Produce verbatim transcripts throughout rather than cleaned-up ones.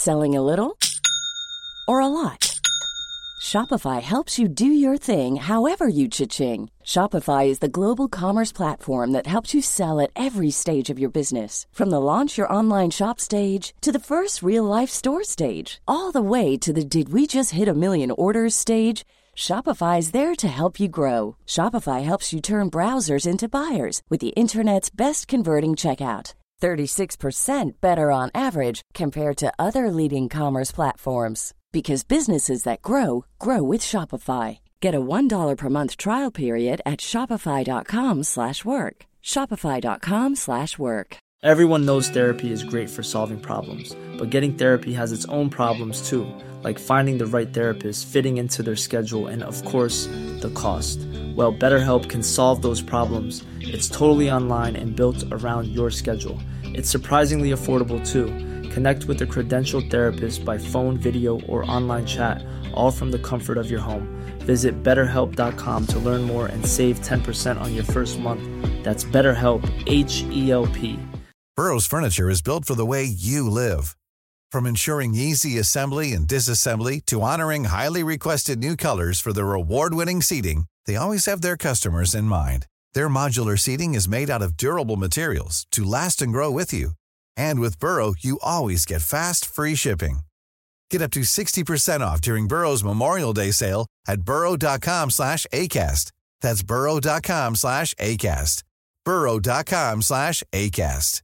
Selling a little or a lot? Shopify helps you do your thing however you cha-ching. Shopify is the global commerce platform that helps you sell at every stage of your business. From the launch your online shop stage to the first real-life store stage, all the way to the did we just hit a million orders stage. Shopify is there to help you grow. Shopify helps you turn browsers into buyers with the internet's best converting checkout. thirty-six percent better on average compared to other leading commerce platforms. Because businesses that grow, grow with Shopify. Get a one dollar per month trial period at shopify.com slash work. Shopify.com slash work. Everyone knows therapy is great for solving problems, but getting therapy has its own problems too, like finding the right therapist, fitting into their schedule, and of course, the cost. Well, BetterHelp can solve those problems. It's totally online and built around your schedule. It's surprisingly affordable too. Connect with a credentialed therapist by phone, video, or online chat, all from the comfort of your home. Visit better help dot com to learn more and save ten percent on your first month. That's BetterHelp, H E L P. Burrow's furniture is built for the way you live. From ensuring easy assembly and disassembly to honoring highly requested new colors for their award-winning seating, they always have their customers in mind. Their modular seating is made out of durable materials to last and grow with you. And with Burrow, you always get fast, free shipping. Get up to sixty percent off during Burrow's Memorial Day sale at burrow.com slash ACAST. That's burrow.com slash ACAST. burrow.com slash ACAST.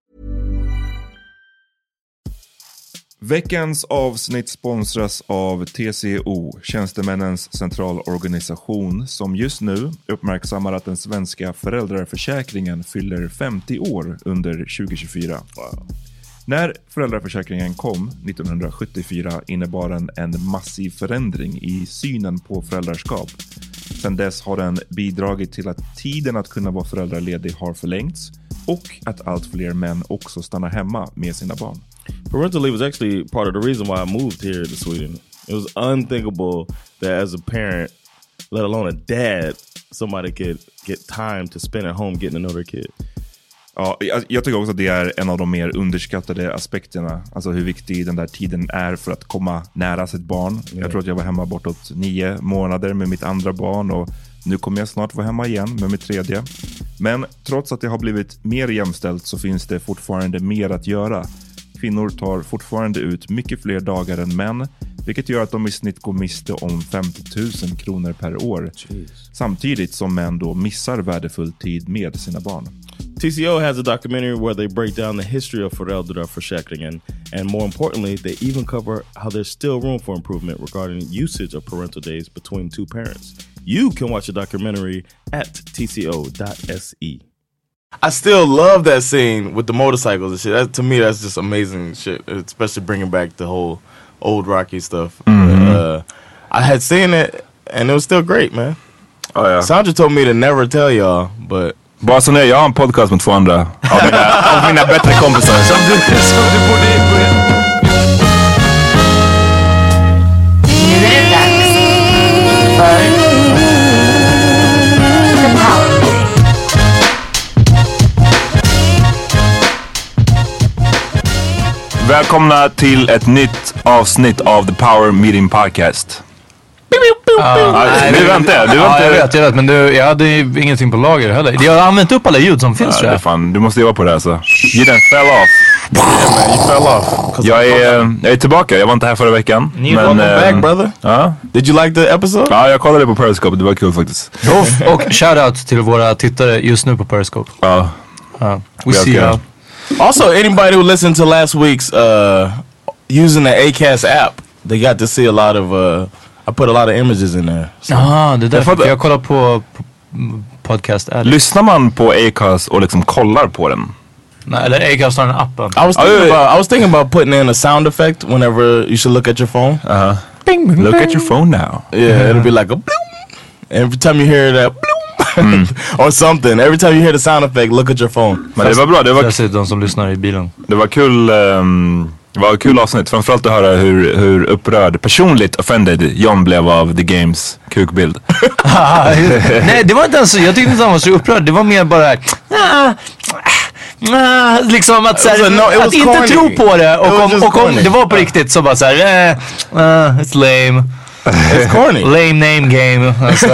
Veckans avsnitt sponsras av T C O, Tjänstemännens centralorganisation, som just nu uppmärksammar att den svenska föräldraförsäkringen fyller femtio år under tjugo tjugofyra. Wow. När föräldraförsäkringen kom nittonhundrasjuttiofyra innebar den en massiv förändring i synen på föräldraskap. Sedan dess har den bidragit till att tiden att kunna vara föräldraledig har förlängts och att allt fler män också stannar hemma med sina barn. Parental leave was actually part of the reason why I moved here to Sweden. It was unthinkable that as a parent, let alone a dad, somebody could get time to spend at home getting to know their kid. Ja, jag, jag tycker också att det är en av de mer underskattade aspekterna. Alltså hur viktig den där tiden är för att komma nära sitt barn. Mm. Jag tror att jag var hemma bortåt nio månader med mitt andra barn och nu kommer jag snart vara hemma igen med mitt tredje. Men trots att det har blivit mer jämställt så finns det fortfarande mer att göra. Kvinnor tar fortfarande ut mycket fler dagar än män, vilket gör att de i snitt går miste om femtio tusen kronor per år. Jeez. Samtidigt som män då missar värdefull tid med sina barn. T C O has a documentary where they break down the history of föräldraförsäkringen, and more importantly, they even cover how there's still room for improvement regarding usage of parental days between two parents. You can watch the documentary at t c o dot s e. I still love that scene with the motorcycles and shit. That, to me, that's just amazing shit, especially bringing back the whole old Rocky stuff. Mm-hmm. Uh, I had seen it, and it was still great, man. Oh, yeah. Sandra told me to never tell y'all, but... Bara så när jag har en podcast med två andra av mina, av mina bättre kompisar. Som du, som du borde börja. Nu är det dags för The Power Meeting. Välkomna till ett nytt avsnitt av The Power Meeting Podcast. Uh, nej, du väntar, du väntar. Ja, jag vet, jag vet, men du, jag hade ju ingenting på lager heller. Jag har använt upp alla ljud som finns, ja, tror jag. Fan, du måste jobba på det här så. You done fell off. Yeah, man, you fell off. Jag är, jag är tillbaka, jag var inte här förra veckan. You men, welcome back, brother. Ja. Did you like the episode? Ja, jag kollade på Periscope, det var kul faktiskt. Och, och shoutout till våra tittare just nu på Periscope. Ja. Uh, we see you. Also, anybody who listened to last week's uh, using the Acast app, they got to see a lot of... Uh, I put a lot of images in there. So. Ah, det är därför jag, jag kollar på, på podcast Addict. Lyssnar man på Acast och liksom kollar på den? Nej, eller Acast har den appen. I was thinking oh, about I was thinking about putting in a sound effect whenever you should look at your phone. Uh-huh. Bing, bing, look bing. At your phone now. Yeah, uh-huh. It'll be like a bloom. Every time you hear that bloom mm. or something, every time you hear the sound effect, look at your phone. Men det var bra, det var k- de som lyssnar i bilen. Det var kul um, det var kul avsnitt, framförallt att höra hur, hur upprörd, personligt offended John blev av The Games kukbild. Nej, det var inte ens så, jag tyckte inte han var så upprörd. Det var mer bara, ah, nah, liksom att, så här, was a no- it was att inte corny. tro på det. It Och was om, just och om corny. det var på riktigt så bara så här, eh, uh, it's lame. It's corny. Lame name game. Alltså,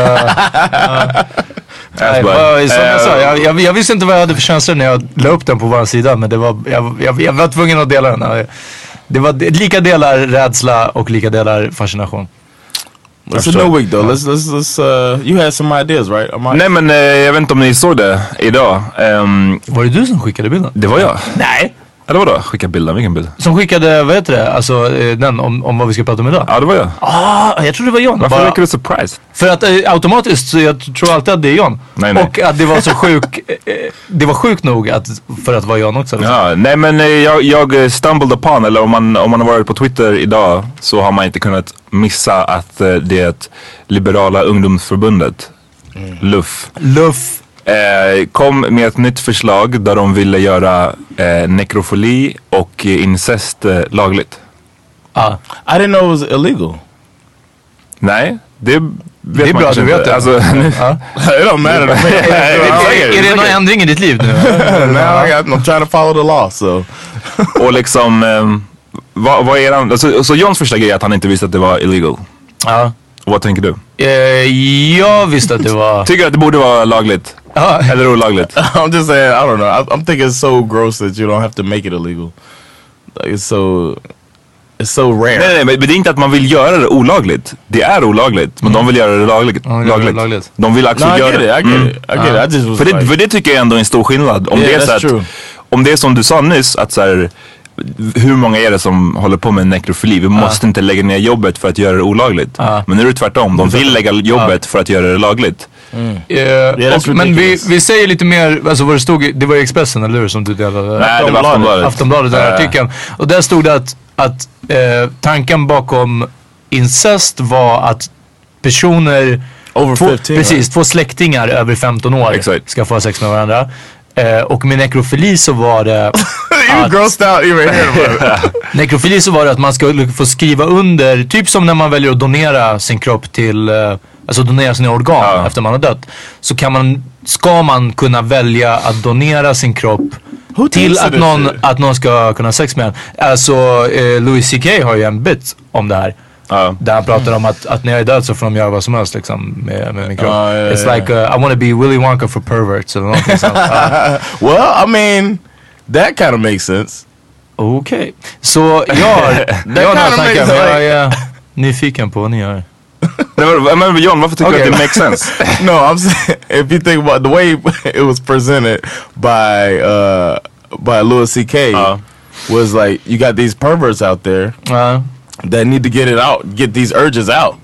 uh, nej, vad- som jag, sa, jag, jag, jag visste inte vad jag hade för känslor när jag la upp den på vår sida. Men det var, jag, jag, jag var tvungen att dela den. Det var lika delar rädsla och lika delar fascination. It's a new week though. Let's let's let's. Uh, you had some ideas, right? Am I- Nej men eh, jag vet inte om ni såg det idag. Ehm, Var det du som skickade bilden? det var jag. Nej. Eller vadå? Skicka bilden, vilken bild? Som skickade, vad heter det? Alltså eh, den om, om vad vi ska prata om idag. Ja det var jag. Ah, jag tror det var John. Varför Bara- verkar du surprised? För att eh, automatiskt så jag tror alltid att det är John. Nej, nej. Och att det var så sjuk, eh, det var sjukt nog att, för att vara John också. Liksom. Ja, nej men eh, jag, jag stumbled upon, eller om man, om man har varit på Twitter idag så har man inte kunnat missa att eh, det är ett liberala ungdomsförbundet, L U F. Luff. Eh, kom med ett nytt förslag där de ville göra eh, nekrofili och eh, incest eh, lagligt. Ah. I didn't know it was illegal. Nej, det vet Det är man bra att kanske du vet inte. det. Alltså, Ja. It don't matter to me. Är, är det någon ändring i ditt liv nu? Now I got, I'm trying to follow the law, so. och liksom, eh, vad, vad är han, alltså, så Johns första grej är att han inte visste att det var illegal. Ja. Och vad tänker du? Eh, jag visste att det var... Tycker du att det borde vara lagligt? Ja. Eller olagligt? I'm just saying, I don't know. I, I'm thinking it's so gross that you don't have to make it illegal. Like it's so, it's so rare. Nej, nej, men det är inte att man vill göra det olagligt. Det är olagligt, men de vill göra det lagligt. De vill göra det lagligt. lagligt. De vill också No, I göra get it. I get Mm. it. I get it. I just was För det, like, för det tycker jag ändå är en stor skillnad. Om Yeah, det är så that's att, true. om det är som du sa nyss, att så här, hur många är det som håller på med nekrofili? Vi måste inte lägga ner jobbet för att göra det olagligt. Men nu är det tvärtom. De vill lägga jobbet för att göra det lagligt. Eh, that's och, men vi, ridiculous. vi säger lite mer, alltså vad det stod, i- det var i Expressen eller hur som du delade? Nej, det var Aftonbladet. Aftonbladet, den här Eh. artikeln. Och där stod det att, att eh, tanken bakom incest var att personer, Over två, fifteen, precis, right? två släktingar över femton år Exakt. ska få ha sex med varandra. Eh, och med nekrofili så var det You grossed out even hearing about it. Nekrofili så var det att man skulle få skriva under, typ som när man väljer att donera sin kropp till, eh, alltså donera sina organ Ja. efter man har dött. Så kan man, ska man kunna välja att donera sin kropp Who till thinks of att this någon, shit? att någon ska kunna ha sex med en. Alltså eh, Louis C K har ju en bit om det här. Ja. Där han pratar om att, att när jag är död så får de göra vad som helst liksom, med, med min kropp. Ja, ja, It's ja. like uh, I wanna be Willy Wonka for perverts eller någonting sånt. Ja. Well, I mean, that kind of makes sense. Okej, så jag har, jag har några kinda tankar makes men sense. jag är nyfiken på vad ni gör. Nej, men, men John, varför tycker Okej. du att det makes sense? No, I'm saying if you think about the way it was presented by uh by Louis C K Uh. was like you got these perverts out there Ja. that need to get it out, get these urges out.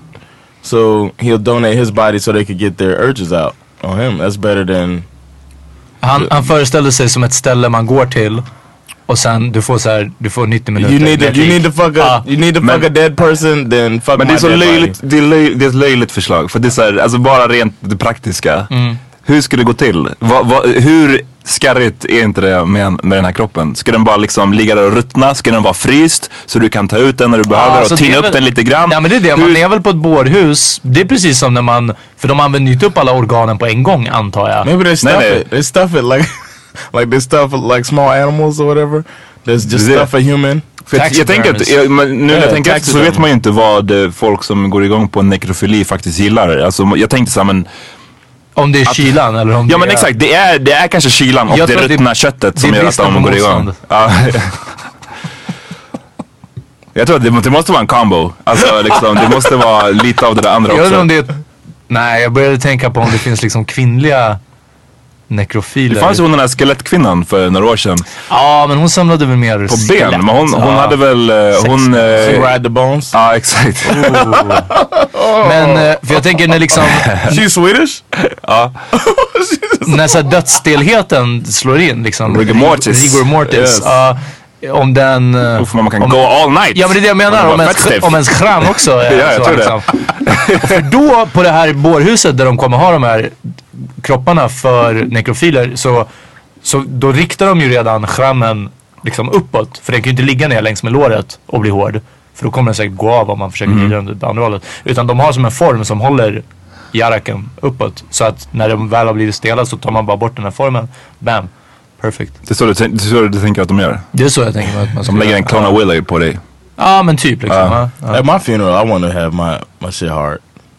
So he'll donate his body so they could get their urges out on him. That's better than Han, han föreställde sig som ett ställe man går till och sen du får så här, du får nittio minuter. you need to med you lik. need to fuck a Ah, you need to men- fuck a dead person, then fuck Men det my är så dead löjligt, body. det är, löj, det är ett löjligt förslag. För det är så här, alltså bara rent det praktiska. Hur ska det gå till? Va, va, hur skarrigt är inte det med, med den här kroppen? Ska den bara liksom ligga där och ruttna? Ska den vara fryst så du kan ta ut den när du behöver alltså och det tina är upp väl- den lite grann? Ja men det är det, Hur- man är väl på ett bårhus. Det är precis som när man, för de använder ju inte upp alla organen på en gång antar jag. Maybe they stuff nej. it. They stuff it like like they stuff it like small animals or whatever. There's just Det- stuff a human. För jag, jag tänker att, jag, men nu när Ja, jag tänker efter så taxidermy. vet man ju inte vad eh, folk som går igång på nekrofili faktiskt gillar. Alltså jag tänkte så här, men Om det är kylan eller om ja det men är... exakt, det är, det är kanske kylan och Jag det tror att det- ruttna köttet det som är gör att bristen de på går igång. motstånd. Ja. Jag tror att det, det måste vara en combo. Alltså liksom, det måste vara lite av det där andra Jag vet inte också. om det är... Nej, jag började tänka på om det finns liksom kvinnliga nekrofiler. Det fanns ju hon den här skelettkvinnan för några år sedan. Ja, men hon samlade väl mer På skelett. ben, men hon, hon Ja. hade väl, eh, hon... She eh, ride the bones. Ja exakt. Men, eh, för jag tänker när liksom, She's Swedish? Ja. när så här dödsstelheten slår in liksom. Rigor mortis. Rigor mortis. Yes. Ja, om den... eh, Uff, man kan om, go all night. Ja men det är det jag menar, Och om det var ens, fett stiff. om ens kram också är Ja, jag så tror det. liksom. För då på det här bårhuset där de kommer ha de här kropparna för nekrofiler så, så då riktar de ju redan skrammen liksom uppåt. För den kan ju inte ligga ner längs med låret och bli hård. För då kommer den säkert gå av om man försöker vrida den åt andra hållet. Utan de har som en form som håller jaraken uppåt. Så att när de väl har blivit stela så tar man bara bort den här formen. Bam. Perfect. Det är så du, det är så du tänker att de gör? Det är så jag tänker att man ska De lägger en Clone of Willy på dig. Ja, men typ liksom. Uh. Ja, ja. At my funeral, I want to have my, my shit hard.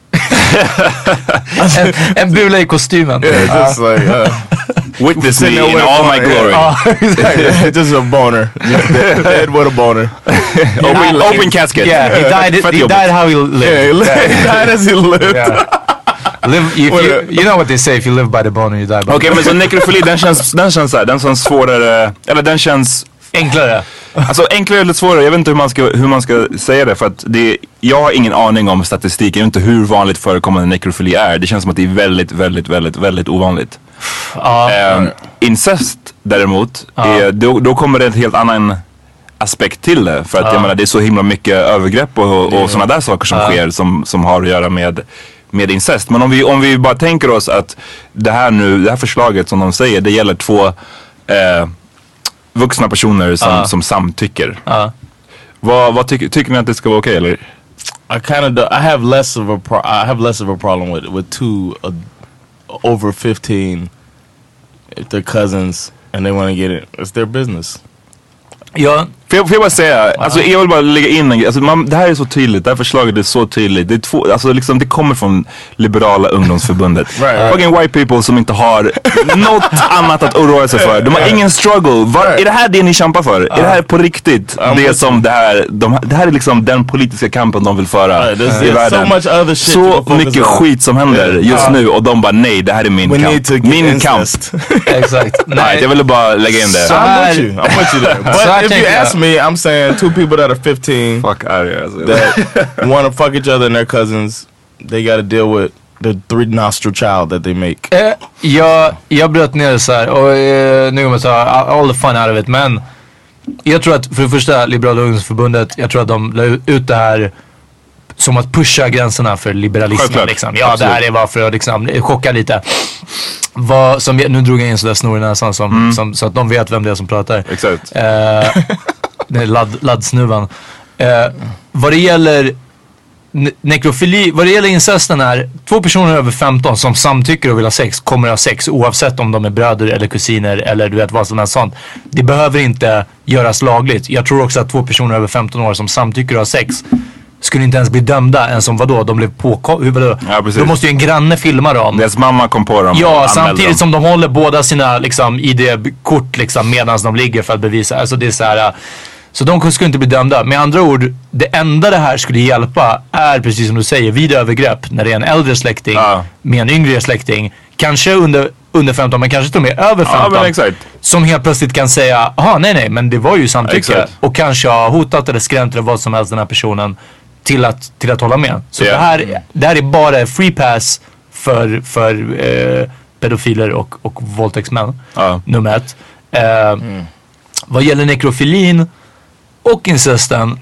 en, en bula i kostymen. Yeah, just like... Uh, Witness me in all my glory. Yeah. Uh, exactly. Just a boner. Dead with a boner. open, open casket. Yeah, he died, he died how he lived. Yeah, he, lived, he died as he lived. Yeah. Live, if you, you know what they say, if you live by the boner you die by the Okej, okay, men så nekrofili, den känns, den känns såhär, den känns svårare, eller den känns... Enklare. Alltså enklare eller svårare, jag vet inte hur man ska, hur man ska säga det, för att det, jag har ingen aning om statistiken, jag vet inte hur vanligt förekommande nekrofili är. Det känns som att det är väldigt, väldigt, väldigt, väldigt ovanligt. Ja. Um, incest däremot, Ja. är, då, då kommer det en helt annan aspekt till det. För att Ja. jag menar, det är så himla mycket övergrepp och, och, och sådana där saker som Ja. sker som, som har att göra med med incest. Men om vi, om vi bara tänker oss att det här nu, det här förslaget som de säger, det gäller två eh, vuxna personer som, Ja. som samtycker. Ja. Vad, vad tycker, tycker ni att det ska vara okej eller? I kind of do, I have less of a pro, I have less of a problem with with two uh, over fifteen if they're cousins and they want to get it. It's their business. Ja. Får jag, får jag bara säga, alltså jag vill bara lägga in en grej. Alltså man, det här är så tydligt, det här förslaget är så tydligt. Det är två, alltså liksom det kommer från Liberala ungdomsförbundet. Right, right. Fucking white people som inte har något annat att oroa sig för. De har ingen struggle. Var, Right. Är det här det ni kämpar för? Uh, är det här på riktigt? I'm Det with som det här, de, det här är liksom den politiska kampen de vill föra Right, there's- i there's världen. so much other shit to Så focus mycket on. skit som händer Yeah. just Uh, nu och de bara nej, det här är min We kamp. need to get Min kamp. incest. Exakt. Nej, jag ville bara lägga in det. Så- I'm with you. I'm with you there. But So I if think, you uh, ask me, I'm saying two people that are fifteen Fuck out of here, alltså. that want to fuck each other and their cousins, they got to deal with the three nostril child that they make. Eh, jag, jag bröt ner det så här och eh, nu kommer jag ta all the fun out of it, men jag tror att för det första Liberala ungdomsförbundet, jag tror att de la ut det här som att pusha gränserna för liberalismen. Självklart. Liksom. Ja, Absolut. det här är bara för att liksom, chocka lite. Vad, som, nu drog jag in sådär snor i näsan som, Mm. som, så att de vet vem det är som pratar. Exakt. Eh, det är ladd, laddsnuvan. Eh, vad det gäller ne- nekrofili, vad det gäller incesten är två personer över femton som samtycker och vill ha sex kommer ha sex oavsett om de är bröder eller kusiner eller du vet vad som helst sånt. Det behöver inte göras lagligt. Jag tror också att två personer över femton år som samtycker och har sex skulle inte ens bli dömda än som vadå, de blev på hur vadå? Ja, precis. Då måste ju en granne filma dem. Deras mamma kom på dem. och Ja, anmälde samtidigt dem. som de håller båda sina liksom, I D-kort liksom, medan de ligger för att bevisa. Alltså det är så här. Så de skulle inte bli dömda. Med andra ord, det enda det här skulle hjälpa är precis som du säger, vid övergrepp. När det är en äldre släkting Ja. med en yngre släkting. Kanske under, under femton, men kanske till och med över Ja, femton. men exakt. Som helt plötsligt kan säga, aha nej nej, men det var ju samtycke. Exakt. Och kanske ha hotat eller skrämt eller vad som helst den här personen till att, till att hålla med. Så Ja. det, här, det här är bara free pass för, för eh, pedofiler och, och våldtäktsmän. Ja. Nummer ett. Eh, Vad gäller nekrofilin och incesten.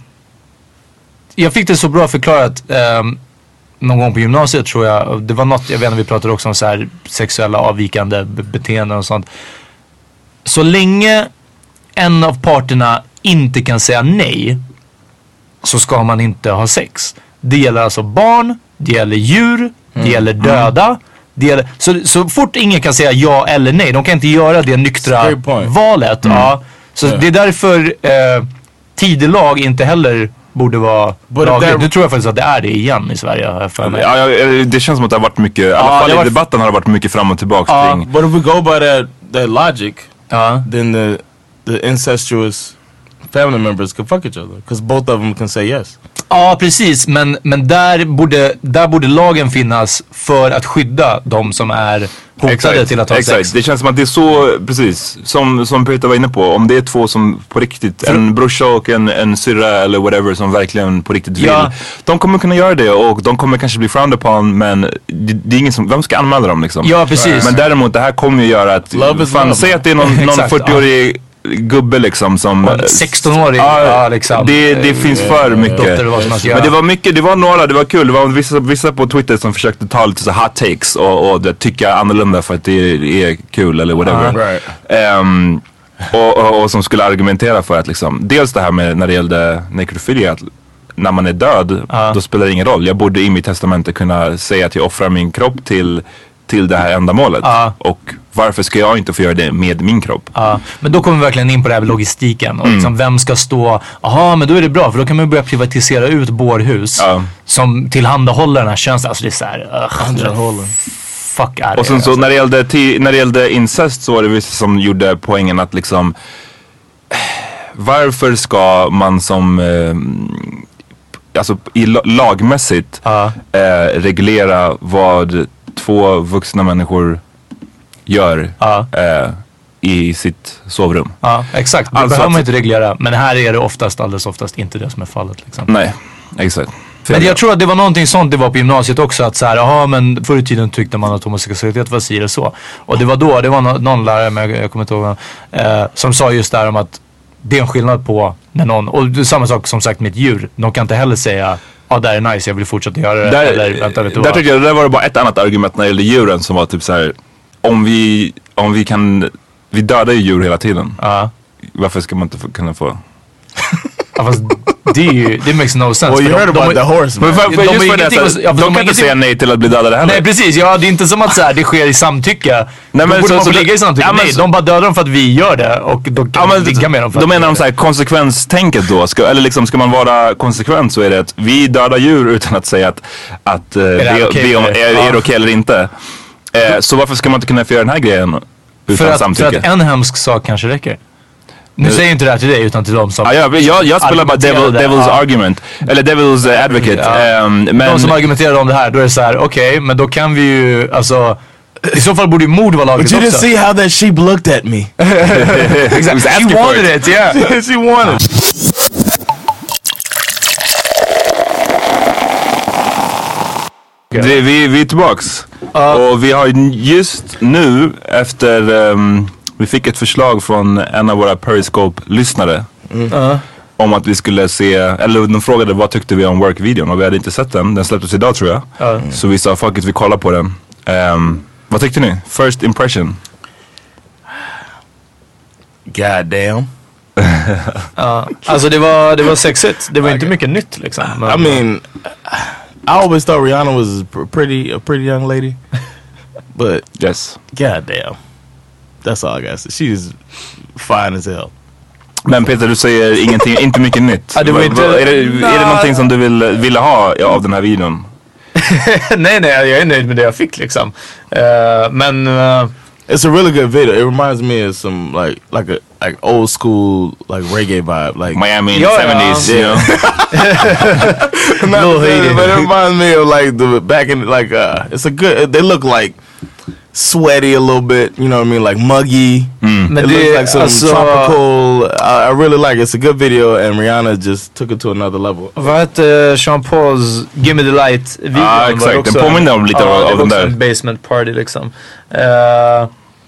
Jag fick det så bra förklarat eh, någon gång på gymnasiet tror jag. Det var något, jag vet inte, vi pratade också om så här sexuella avvikande be- beteenden och sånt. Så länge en av parterna inte kan säga nej så ska man inte ha sex. Det gäller alltså barn, det gäller djur, det gäller döda. Det gäller, så, så fort ingen kan säga ja eller nej, de kan inte göra det nyktra Great point. valet. Ja. Så Yeah. det är därför eh, tidelag inte heller borde vara But lagligt. there- Nu tror jag faktiskt att det är det igen i Sverige. har jag för mig. Ja, ja, det känns som att det har varit mycket, i alla Ja, fall det i har varit- debatten har det varit mycket fram och tillbaka Ja. kring. But if we go by that that logic, Ja. then the the incestuous family members can fuck each other because both of them can say yes. Ja, precis. Men, men där, borde, där borde lagen finnas för att skydda de som är hotade till att ha exakt. sex. Det känns som att det är så, precis, som, som Peter var inne på. Om det är två som på riktigt, en brorsa och en, en syrra eller whatever som verkligen på riktigt vill. Ja. De kommer kunna göra det och de kommer kanske bli frowned upon, men det, det är ingen som, vem ska anmäla dem liksom? Ja, precis. Men däremot det här kommer ju göra att, Love is fan, love. säg att det är någon, någon Exakt, fyrtioårig gubbe liksom som... Och en sexton-årig, ja, liksom. Det, det finns för mycket. Dotter eller vad som helst göra. Men det var mycket, det var några, det var kul. Det var vissa, vissa på Twitter som försökte ta lite så hot takes och, och det, tycka annorlunda för att det är, är kul eller whatever. Right. Ehm, och, och, och som skulle argumentera för att liksom, dels det här med när det gällde nekrofili, att när man är död, Ja. då spelar det ingen roll. Jag borde i mitt testamente kunna säga att jag offrar min kropp till till det här ändamålet. Ja. Och varför ska jag inte få göra det med min kropp? Ja, men då kommer vi verkligen in på det här med logistiken. Och Mm. liksom vem ska stå... Jaha, men då är det bra. För då kan man börja privatisera ut bårhus. Ja. Som tillhandahåller den här tjänsten. Alltså det är såhär... Uh, fuck är det. Och sen så alltså. när det, gällde ti- när det gällde incest så var det vissa som gjorde poängen att liksom... Varför ska man som... Eh, alltså i la- lagmässigt Ja. eh, reglera vad två vuxna människor gör Ja. eh, i sitt sovrum? Ja, exakt. Det Alltså behöver man att- inte reglera. Men här är det oftast, alldeles oftast inte det som är fallet. Liksom. Nej, exakt. Men jag tror att det var någonting sånt det var på gymnasiet också. Att så här, jaha, men förr i tiden tyckte man att homosexualitet var si eller så. Och det var då, det var no- någon lärare, men jag, jag kommer inte ihåg, eh, som sa just där om att det är en skillnad på när någon, och det är samma sak som sagt med ett djur. De kan inte heller säga, ja ah, det är nice, jag vill fortsätta göra det. Där, eller, vänta, vet du där vad? tyckte jag, där var det bara ett annat argument när det gällde djuren som var typ så här: om vi, om vi kan, vi dödar ju djur hela tiden. Ja. Varför ska man inte få, kunna få... Ja, fast det är ju, det makes no sense. Well, you För heard de- about de- the horse, man. Men för, för De har just för det, ingenting så, att- ja, för de de har kan inte ingenting- säga nej till att bli dödade heller. Nej precis, ja det är inte som att så här, det sker i samtycke. Nej, men då borde så- man få så- ligga i samtycke. ja, men Nej, så- de bara dödar dem för att vi gör det och då kan Ja, man men, ligga med dem för då att menar vi de gör så här, konsekvenstänket då, ska, eller liksom ska man vara konsekvent så är det att vi dödar djur utan att säga att, att eh, det här be, okej be om, för är, dig? är Ja. det okej eller inte. Eh, så varför ska man inte kunna få göra den här grejen det. utan För att, för samtycke? att en hemsk sak kanske räcker. Nu säger jag inte det här till dig utan till dem som... Ja, jag, jag, jag spelar bara devil, argumenterade. devil's Ja. argument. Eller devil's uh, advocate. Ja. Ehm, men, De som argumenterar om det här, då är det så här: okej, okay, men då kan vi ju, alltså... I så fall borde ju mord vara But lagligt you didn't också. see how that sheep looked at me. Exactly. She wanted it, yeah. She wanted. vi, vi, vi är tillbaks. Och vi har just nu efter... Um, vi fick ett förslag från en av våra Periscope-lyssnare. Uh. Om att vi skulle se, eller de frågade vad tyckte vi om work-videon och vi hade inte sett den. Den släpptes idag tror jag. Ja. Så vi sa fuck it, vi kollar på den. Um, vad tyckte ni? First impression? God damn. Ja, alltså det var, det var sexigt. Det var inte mycket nytt liksom. Men, I mean, I always thought Rihanna was a pr- pretty, a pretty young lady, but Yes. god damn, that's all I got to say. She's fine as hell. Men Peter, du säger ingenting, inte mycket nytt. Ja, det var Va- inte- va- är, det, är det Nej. någonting som du vill, ville ha av den här videon? nej, nej, jag är nöjd med det jag fick liksom. Uh, men... Uh, It's a really good video. It reminds me of some like like a like old school like reggae vibe, like Miami in Ja, the ja. seventies, you know? Not Lil the- Haiti. but it reminds me of like the back in like uh it's a good. They look like sweaty a little bit. You know what I mean? Like muggy. men It det, looks like some alltså, tropical. I, I really like it. It's a good video, and Rihanna just took it to another level. Vad hette Sean Pauls Gimme the Light-videon? Ja, var exakt. också Den påminner om lite ja, av- det av var den också där. en basement party liksom. Uh,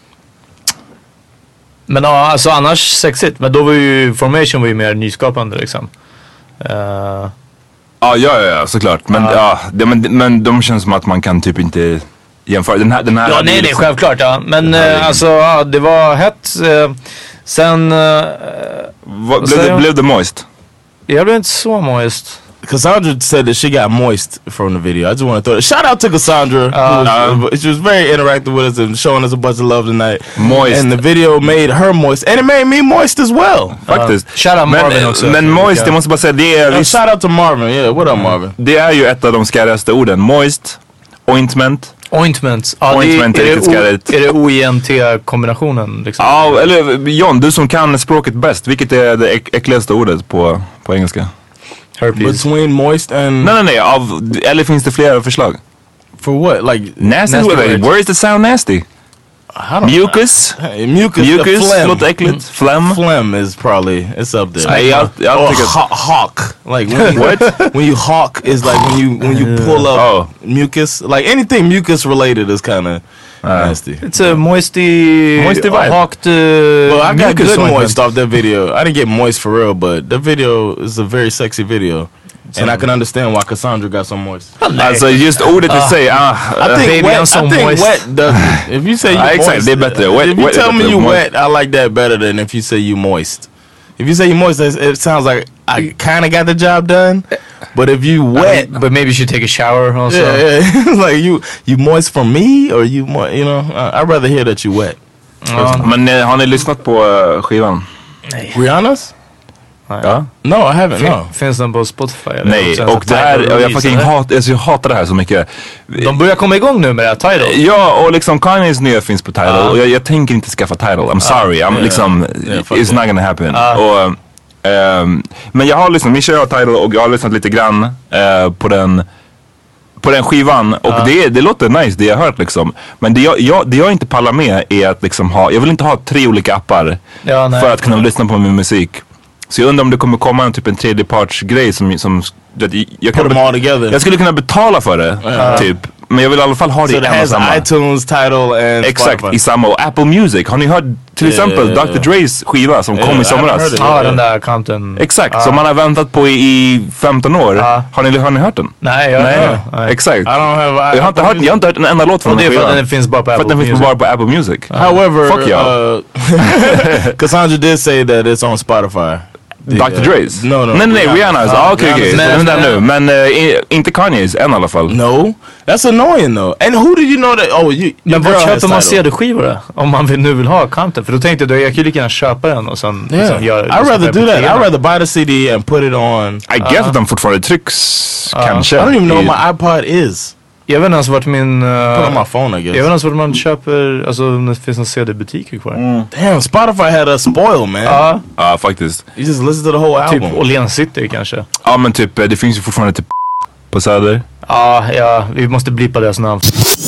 men ja, alltså annars sexigt. Men då var ju Formation var ju mer nyskapande liksom. Uh, Ja, ja, ja, såklart. Men, Ja. ja, det, men, men de känns som att man kan typ inte jämföra. Den här, den här ja, hade nej, ju nej, liksom- självklart ja. Men Den här uh, är- alltså, ja, det var hett. Uh, sen, uh, Vad- blev, säger det, jag? blev det moist? jag blev inte så moist. Cassandra said that she got moist from the video. I just want to throw it. Shout out to Cassandra. who was- she was very interactive with us and showing us a bunch of love tonight. Moist. And the video made her moist, and it made me moist as well. Faktiskt. Shout out Marvin men, också. men moist, jag måste bara säga, det är, Uh, visst, shout out to Marvin. Yeah, what up, Marvin? det är ju ett av de skärigaste orden. Moist, ointment. Ointment. Ja, Ointment det, är är, riktigt det o, skarrigt. är det O I N T-kombinationen liksom? Ja, eller John, du som kan språket bäst. Vilket är det äck- äckligaste ordet på, på engelska? Herpes. Between moist and Nej, nej, nej. Av, eller finns det flera förslag? for what? Like Nasty, Nasty word. words. Where is the sound nasty? I don't Mucus? Hey, mucus. the Mucus, phlegm. låter äckligt. Phlegm? Phlegm is probably it's up there. Nej, jag, jag Or tycker... ha- hawk. Like when you, when you hawk is like when you when you pull up Oh. mucus. Like anything mucus related is kind of nasty. It's a moisty... Moisty vibe. Hawked uh, Well, I got mucus good ointment. moist off that video. I didn't get moist for real, but the video is a very sexy video. And I can understand why Cassandra got so moist. Alltså just ordet i sig, ah, I think baby, wet. I'm so I think moist. wet does it. If you say you Ah, exactly, moist, they're better. Wet- if you wet tell is me better. you Moist. wet, I like that better than if you say you moist. If you say you moist, it it sounds like I kind of got the job done, But if you wet, but maybe you should take a shower also. Yeah, yeah. Like you, you moist from me, or you, mo- you know, uh, I'd rather hear that you wet. Ja. Men eh, har ni lyssnat på uh, skivan? Nej. Rihanna's? Ja. No, I haven't. Fin- No. Finns den på Spotify? Eller? Nej, sen och så det här, Tidal och jag, release, fucking eller? hat, alltså, jag hatar det här så mycket. De börjar komma igång nu med det här, Tidal. Ja, och liksom Kanyes nya finns på Tidal. Och jag, jag tänker inte skaffa Tidal. I'm sorry, I'm yeah. liksom, Yeah, fuck it's it. not gonna happen. Och, ehm, men jag har lyssnat, Mischa har Tidal och jag har lyssnat lite grann eh, på den på den skivan och det, det låter nice det jag har hört liksom. Men det jag, jag, det jag inte pallar med är att liksom ha, jag vill inte ha tre olika appar Ja, nej. för att kunna lyssna på min musik. Så jag undrar om det kommer komma en typ en tredjepartsgrej som, som jag, kan Put them all together. jag skulle kunna betala för det typ. Men jag vill i alla fall ha det So i it en och has samma. iTunes, Tidal, and Exakt, Spotify. i samma. Och Apple Music. Har ni hört till Yeah, exempel yeah, yeah. doktor Dre's skiva som Yeah, kom i I haven't somras? heard it. Ja, den där kanten. Exakt, Ja. som man har väntat på i, i femton år. Ja. Har, ni, har ni hört den? Nej, jag Nej, nej. exakt. I don't have. I, Jag har, inte hört, jag har inte hört en enda låt från Och det den är för skivan. att den finns bara på För Apple att den finns Music. bara på Apple Music. However, Fuck y'all. uh, Cassandra did say that it's on Spotify. doktor Dre's? No, no. Nej, nej, Rihanna's. Ah, okej, okej. Rihanna's. Den där nu. Men eh, i- inte Kanye's än i alla fall. No, that's annoying though. And who did you know that? Oh, you. Men your vart girl has köper man Tidal. C D-skivor då? Om man vill, nu vill ha content. För då tänkte jag, jag kan ju lika gärna köpa den och sen Yeah, liksom göra... I'd rather do that. I'd rather buy the C D and put it on. I guess att den fortfarande trycks, kanske. I don't even know i- what my iPod is. Jag vet inte ens vart min... Uh, Put on my phone, I guess. jag vet inte ens vart man köper, alltså om det finns någon C D-butiker kvar. Damn, Spotify had a spoil, man. Ja, Ja, faktiskt. You just listen to the whole typ album. Åhléns City kanske. Ja, men typ, eh, det finns ju fortfarande typ på Söder. Ja, ja, vi måste blippa deras namn.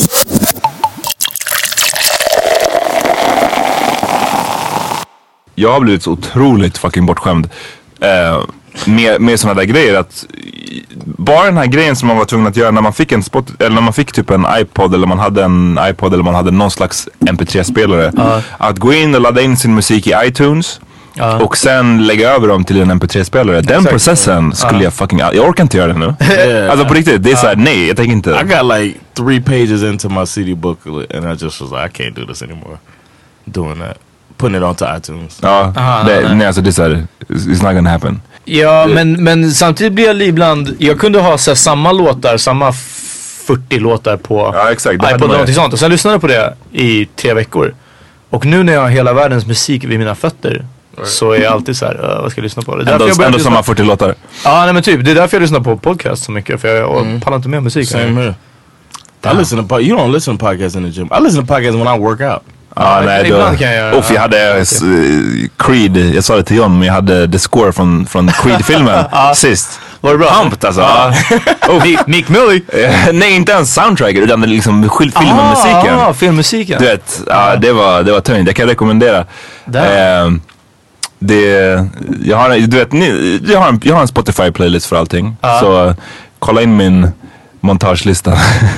Jag har blivit så otroligt fucking bortskämd eh, med, med sådana där grejer att bara den här grejen som man var tvungen att göra när man fick en spot, eller när man fick typ en iPod eller man hade en iPod eller man hade någon slags M P tre-spelare. Att gå in och ladda in sin musik i iTunes Ja. och sen lägga över dem till en M P tre-spelare. Den Exakt. processen skulle jag fucking, jag orkar inte göra det nu. Yeah. Alltså på riktigt, det är såhär, nej jag tänker inte. I got like three pages into my C D booklet, and I just was like, I can't do this anymore. Doing that, putting it onto iTunes. Ja, Aha, det, nej, nej. nej alltså det är såhär, it's not gonna happen. Ja, men, men samtidigt blir jag ibland, jag kunde ha så här, samma låtar, samma fyrtio låtar på Ja, exakt, det hade iPod man eller ju. någonting sånt. Och sen lyssnade jag på det i tre veckor. Och nu när jag har hela världens musik vid mina fötter så är jag alltid så här, uh, vad ska jag lyssna på? Det är därför Ändå, jag började ändå lyssna- samma fyrtio låtar. Ja, nej men typ, det är därför jag lyssnar på podcast så mycket. För jag mm. pallar inte med musik. Same here. I listen to po- you don't listen to podcasts in the gym. I listen to podcasts when I work out. Ja, nej, då, ibland kan jag göra- Uff, jag hade uh, Creed, jag sa det till John, men jag hade The Score från, från Creed-filmen sist. Var det bra? Pumpt alltså. Oh, Mick, Mick Millie. Eh, nej, inte ens soundtracket utan det liksom skil- filmmusiken. Ah, filmmusiken. Du vet, ja, det var, det var tungt. Jag kan rekommendera. Eh, det, jag har, du vet, ni, jag har en, jag har en Spotify-playlist för allting. Så uh, kolla in min montagelista.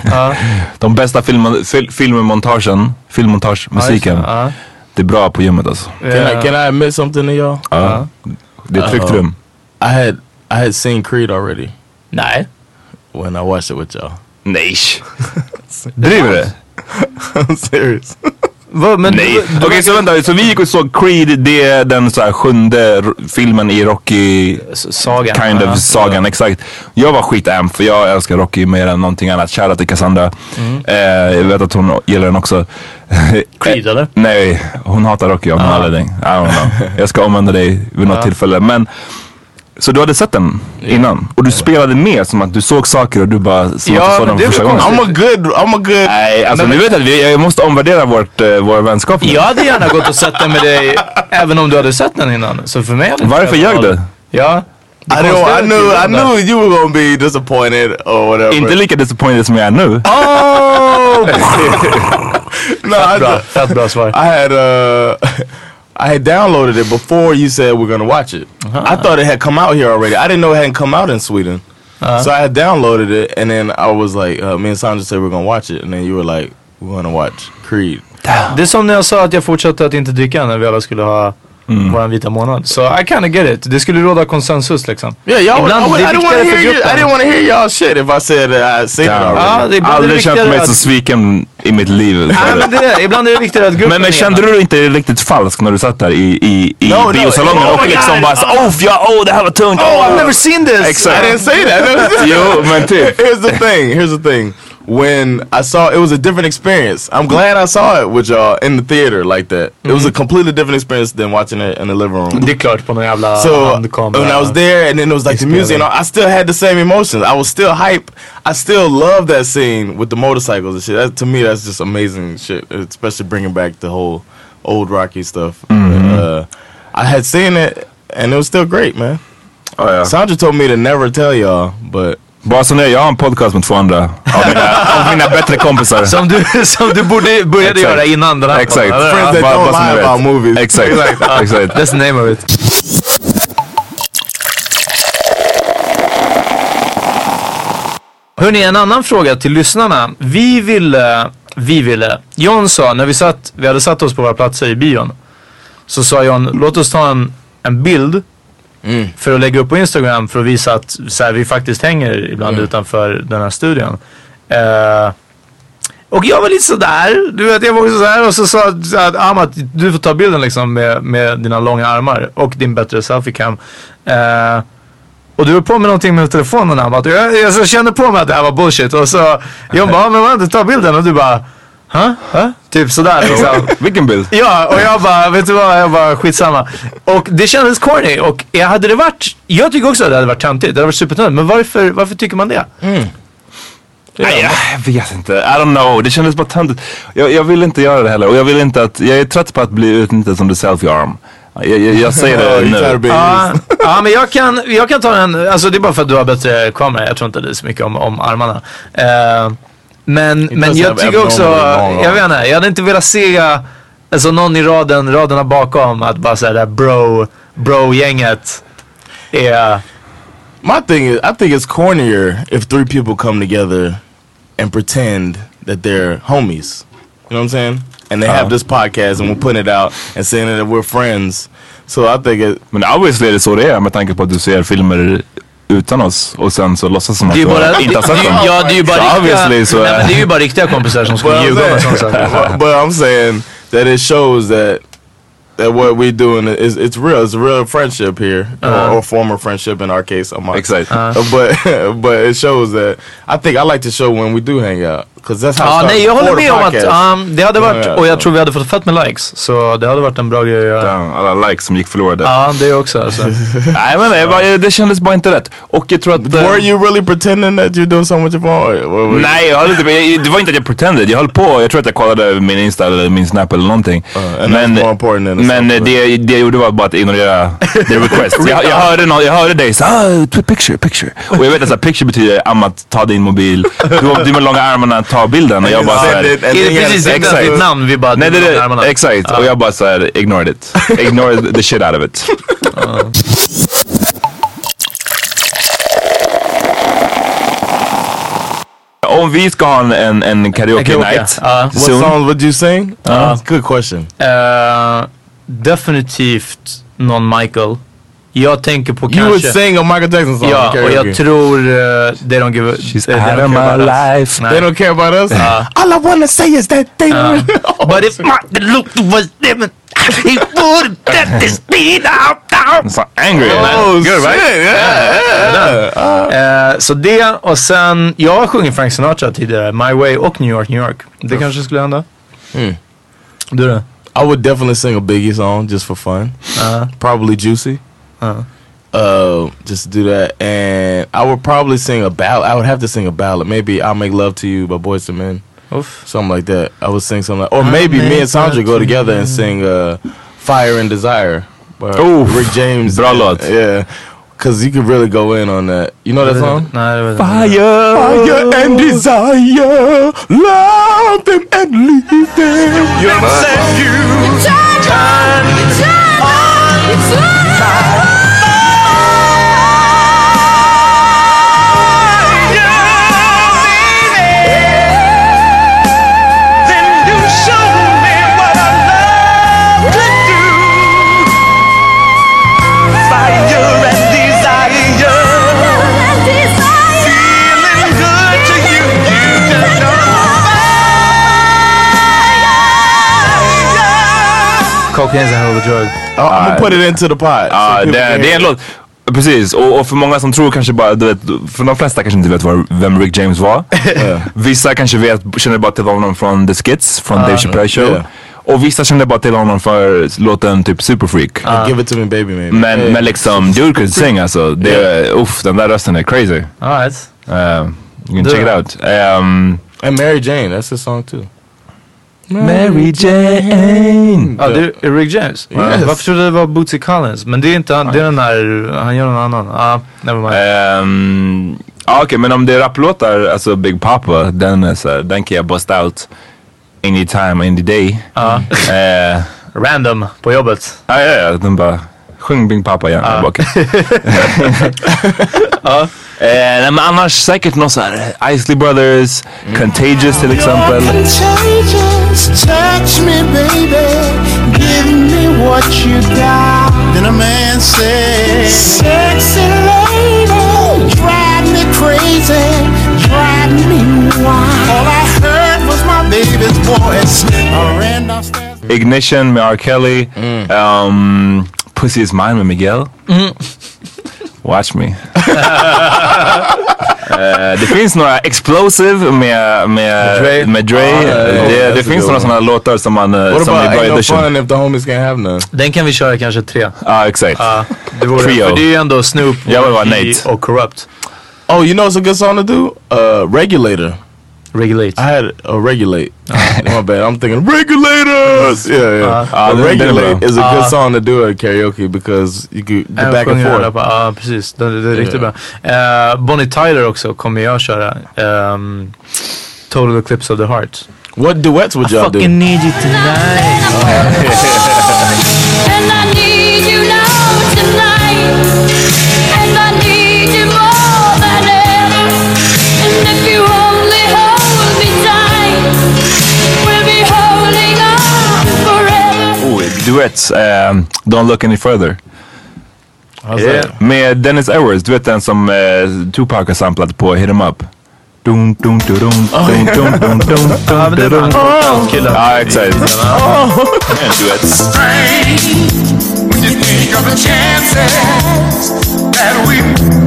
De bästa film, fil, filmmontagen, filmmontagemusiken. Ja, Det är bra på gymmet alltså. Can I can I admit something to y'all? Ja. Det är ett tryggt Uh-oh. rum. I had I had seen Creed already Nej. when I watched it with y'all. Nej. Driver det? I'm serious. Va, men Nej. du- Okej, du- så vänta. Så vi gick och såg Creed, det är den så här sjunde r- filmen i Rocky S- Sagan. kind Ja. of sagan, exakt. Jag var skitamp för jag älskar Rocky mer än någonting annat. Shoutout till Cassandra. Eh, jag vet att hon gillar den också. Creed, eller? Nej, hon hatar Rocky av någon anledning. I don't know. Jag ska omvända dig vid något tillfälle. Men så du hade sett den innan? Och du spelade med som att du såg saker och du bara som Ja, att du såg men den det är första väl gången. I'm a good. I'm a good. Nej, alltså nu vet jag att vi, jag måste omvärdera vårt, uh, vår vänskap nu. Jag hade gärna gått och sett den med dig även om du hade sett den innan. Så för mig hade det Varför inte ljög varit- du? Ja. Det I know. konstiga I är knew. att I du knew you were gonna be disappointed or whatever. Inte lika disappointed som jag är nu. Oh! No, I, Bra, fett bra svar. I had uh, I had downloaded it before you said we're gonna watch it. I thought it had come out here already. I didn't know it hadn't come out in Sweden. So I had downloaded it, and then I was like, uh, me and Sandra said we're gonna watch it, and then you were like, we're gonna watch Creed. Det är som när jag sa att jag fortsatte att inte dricka när vi alla skulle ha mm. våran vita månad. Så I kind of get it. Det skulle råda konsensus liksom. Yeah, y'all would, I, would, I, didn't wanna hear you, I didn't want to hear y'all shit if I said that I seen it already. Ja, aldrig känt mig så sviken i mitt liv. Ja, men det, ibland är det viktigt att gruppen Men, men kände du inte riktigt falsk när du satt där i, i, i no, biosalongen no, oh och liksom bara så, oh, ja, oh, det här var tungt. Oh, I've never seen this. Exactly. I didn't say that. Jo, men typ. Here's the thing, here's the thing. When I saw, it was a different experience. I'm glad I saw it with y'all in the theater like that. Mm-hmm. It was a completely different experience than watching it in the living room. Det är klart på någon jävla so when I was there and then it was like the music and I still had the same emotions. I was still hype. I still love that scene with the motorcycles and shit. That, to me, that's just amazing shit. Especially bringing back the whole old Rocky stuff. Mm-hmm. uh, I had seen it and it was still great, man. Oh, yeah. Sandra told me to never tell y'all, but bara så när jag har en podcast med två andra av mina, av mina bättre kompisar. Som du, som du borde började göra innan den här. Exakt. Friends that don't lie about movies. Exakt. Exakt. That's the name of it. Hörrni, en annan fråga till lyssnarna. Vi ville, vi ville. John sa, när vi satt, vi hade satt oss på våra platser i bion. Så sa John, låt oss ta en, en bild. Mm. För att lägga upp på Instagram för att visa att så här, vi faktiskt hänger ibland mm. utanför den här studion. Uh, och jag var lite sådär, du vet, jag var också sådär och så sa att Amat, du får ta bilden liksom med, med dina långa armar och din bättre selfie-cam. Uh, och du var på med någonting med telefonen, Amat. Jag, jag så kände på mig att det här var bullshit och så jag bara, men vad, ta bilden och du bara Huh? Huh? Typ sådär liksom. Vilken bild? Ja, och jag bara, vet du vad, jag bara skitsamma. Och det kändes corny och jag hade det varit, jag tycker också att det hade varit töntigt, det hade varit supertöntigt. Men varför, varför tycker man det? Mm. Nej, jag vet inte, I don't know, det kändes bara töntigt. Jag, jag vill inte göra det heller och jag vill inte att, jag är trött på att bli utnyttjad som the selfie arm. Jag, jag, jag säger det nu. Ja, ja, men jag kan, jag kan ta en, alltså det är bara för att du har bättre kamera, jag tror inte det är så mycket om, om armarna. Uh, Men, men jag tycker också, jag vet inte, jag hade inte velat se alltså någon i raden, raderna bakom att bara säga där bro, bro-gänget är... My thing is, I think it's cornier if three people come together and pretend that they're homies. You know what I'm saying? And they uh. have this podcast and we're putting it out and saying that we're friends. So I think it... Men obviously är det så det är med tanke på att du ser filmer utan oss och sen så låtsas som att du bara, inte har sett dem. Ja, det är ju bara so riktiga, så, nej, men det är ju bara riktiga kompisar som ska ljuga med sånt. But I'm saying that it shows that that what we doing is it's real. It's a real friendship here, uh-huh. or, or former friendship in our case. Exactly. Uh-huh. But but it shows that I think I like to show when we do hang out. Because that's how ja, nej, jag håller med om att um, det hade varit, och jag tror vi hade fått fett med likes. Så det hade varit en bra grej att göra. Alla likes som gick förlorade. Ja, det också alltså. Nej, men det, bara, det kändes bara inte rätt. Och jag tror att... Were you really pretending that you're doing so much of all? Nej, jag höll inte, det var inte att jag pretended. Jag höll på, jag tror att jag kollade min Insta eller min Snap eller någonting. Uh, men men det, det jag gjorde var bara att ignorera the request. jag, jag, hörde no, jag hörde dig så ah, picture, picture. Och jag vet att så, picture betyder att ta din mobil. Du, du med långa armarna, ta bilden. Och jag bara såhär... Det är precis inte ditt namn, vi bara... Nej, det är exakt. Och jag bara såhär, ignored it. Ignored the shit out of it. uh. Om vi ska ha en, en karaoke, karaoke night uh, what songs would you sing? Uh, good question. Uh, definitivt någon Michael. Jag tänker på kanske... You would sing a Michael Jackson song. Ja, och jag tror uh, they don't give a... She's out of my life. They don't care about us? Uh, All I wanna say is that they... Uh, oh, but if Martin Luther was living, he would let this be out down. So angry. Oh, good, shit. Right? Yeah, yeah. yeah. Uh, så det, och sen... Jag har sjungit Frank Sinatra tidigare. My Way och New York, New York. Det kanske skulle hända. Mm. Du då? I would definitely sing a Biggie song just for fun. Uh, Probably Juicy. Uh-huh. Uh, just to do that, and I would probably sing a ballad. I would have to sing a ballad. Maybe I'll Make Love to You by Boyz two Men. Oof. Something like that. I would sing something like, or I'll maybe me and Sandra go together and sing uh, Fire and Desire by Ooh, Rick James. Bra låt. Yeah, because you could really go in on that. You know that song? No, Fire, Fire and Desire, love them and leave them. You understand? You turn, turn on, turn. Cocaine's a hell of a drug. Oh, I'm gonna put it into the pot. Ja, det, det är en låt. Precis, och, och för många som tror kanske bara, du vet, för de flesta kanske inte vet var, vem Rick James var. Yeah. Vissa kanske vet, känner bara till honom från The Skits, från uh, Dave Chappelle Show. Yeah. Och vissa känner bara till honom för låten typ Superfreak. Uh. Give it to me baby maybe. Men, hey. men liksom, dude could sing alltså. Det, yeah. Uff, den där rösten är crazy. Alright. Uh, you can du. check it out. Um, And Mary Jane, that's a song too. Mary Jane. Ja, det är Rick James. Yes. Varför trodde det var Bootsy Collins? Men det är inte han, det är den där, han gör någon annan. Ah, never mind. Um, ah, Okej, okay, men om det är rapplåtar, alltså Big Papa, den är så, den kan jag bust out anytime, any day. Ja. Uh, Random på jobbet. Ja, ja, ja, den bara, sjung Big Papa igen. Ja. Ja. Eh, nej, men annars säkert någon så här Isley Brothers, mm. Contagious till exempel. Touch me baby, give me what you got. Then a man says, sexy lady, drive me crazy, drive me wild. All I heard was my baby's voice. I ran downstairs. Ignition med R. Kelly, mm. um, Pussy Is Mine med Miguel. Mm. Watch me. uh, det finns några Explosive med med Dre. Med Dre. Ah, yeah, yeah, det det finns några sådana låtar som man uh, What som about är bra Ain't No edition. Fun If The Homies Can't Have None? Den kan vi köra kanske tre. Ja, ah, exakt. Uh, det vore, Trio. för det är ju ändå Snoop Jag vill vara Nate och Corrupt. Oh, you know it's a good song to do? Uh, Regulator. Regulate. I had a uh, Regulate. My bad. I'm thinking Regulators. Yeah, yeah. Uh, uh, Regulate is a good uh, song to do at karaoke because you could go back and forth. Ja, uh, precis. Det, det är yeah. riktigt bra. Uh, Bonnie Tyler också kommer jag köra. Um, Total Eclipse of the Heart. What duets would y'all do? I fucking need you tonight. And I need you now tonight. And I need you more than ever. And if you only hold me tight, we'll be holding on forever. Oh, duets. Um, Don't Look Any Further. Yeah. Med Dennis Edwards. Du vet den som uh, Tupac har samplat på Hit 'Em Up. Dun dun dun dun dun dun dun dun dun dun. Ja, exakt. Duets. When you think of the chances that we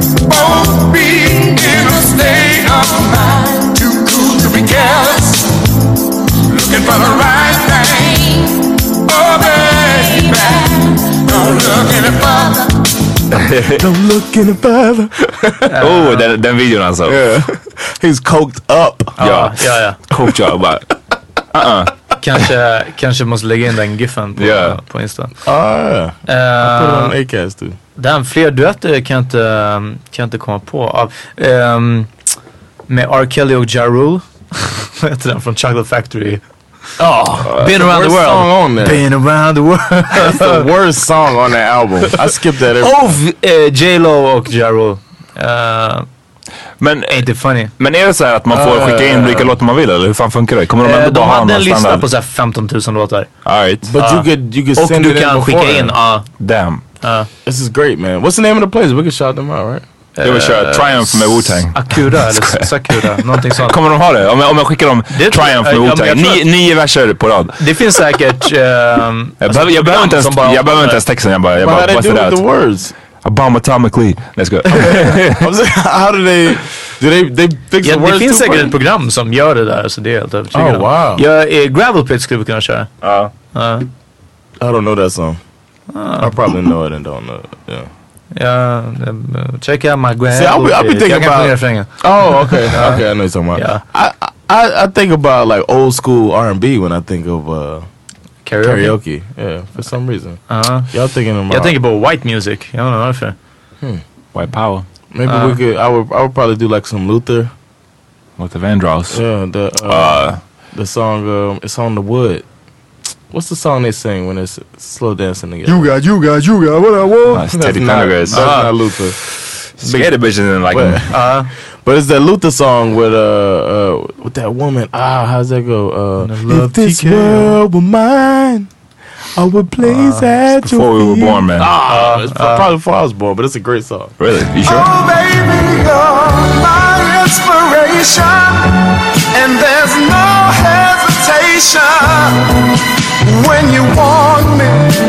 both be in a state of mind, too cool to be careless, looking for the right thing. Oh baby, don't look any further. Don't look any further. Oh, den, den videon alltså. Yeah. He's coked up. Ja, ja, ja. Coked up, bara. Uh-uh. Kanske, kanske måste lägga in den giffen på, yeah. på Insta. Ah, yeah. Uh, put it on Acast too. Den fler duetter kan jag inte, kan jag inte komma på. Av, um, med R. Kelly och Ja Rule. Vad heter den? Från Chocolate Factory. Oh, Been Around the World. Song on there. Been Around the World. That's the worst song on that album. I skipped that every oh, uh, J-Lo och Ja Rule. Uh, men ain't it funny? Men är det så här att man får uh, skicka in vilka låtar man vill eller hur fan funkar det? Kommer de ändå uh, bara de ha hade en lista standard? på så här femton tusen låtar. All right. But uh, you could you could och send du it kan in skicka in. Uh, Damn. Uh, This is great, man. What's the name of the place? We can shout them out, right? Jag vill köra Triumph med Wu-Tang. Akura eller Sakura, någonting sånt. Kommer de ha det? Om jag, om jag skickar dem det, Triumph med Wu-Tang. Ni, nio verser på rad. Det finns säkert... Um, jag behöver, jag behöver inte ens, jag behöver inte ens texten. Jag bara, jag bara busted out. The words? Abomatomically. Let's go. How do they... Do they, they fix ja, the words? Det finns säkert ett program som gör det där. Så det är helt övertygande. Oh, wow. Ja, Gravel Pit skulle vi kunna köra. Ja. Uh. Uh. I don't know that song. Uh. I probably know it and don't know it. Yeah. Yeah, uh, check out my Gravel. See, I'll be, I'll be thinking about... Oh, okay. uh, okay, I know you're talking about. Yeah. I, I, I think about like old school R and B when I think of... Uh, Karaoke? Karaoke, yeah, for some reason. Uh-huh. Y'all thinking about... Jag tänker på white music. Jag don't know varför. Hmm. White power. Maybe uh, we could... I would, I would probably do like some Luther. Luther Vandross. Yeah, the uh, uh, the song, um, It's on the Wood. What's the song they sing when it's slow dancing together? You got, you got, you got what I want. Uh, it's Teddy Pendergrass. That's uh, not Luther. Scared of bitches and like but, him. Uh, but it's that Luther song with uh, uh with that woman. Ah, how's that go? Uh, if this world were mine, I would place uh, at your before we were feet. born, man. Ah, uh, it's uh, probably before I was born, but it's a great song. Really? You sure? Oh, baby, you're my inspiration, and there's no hesitation when you want me.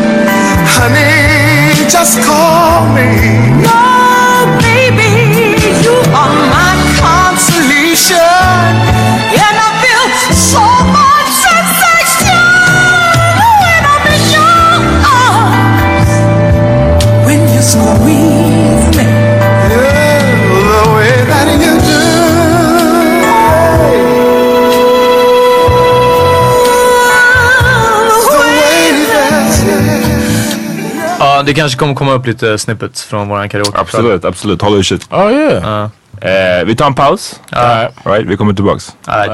det kanske kommer komma upp lite snippets från våran karaoke. Absolut, absolut. Håll utkik. Oh yeah. Uh. Eh, vi tar en paus. Uh. All right, vi kommer tillbaks. All right.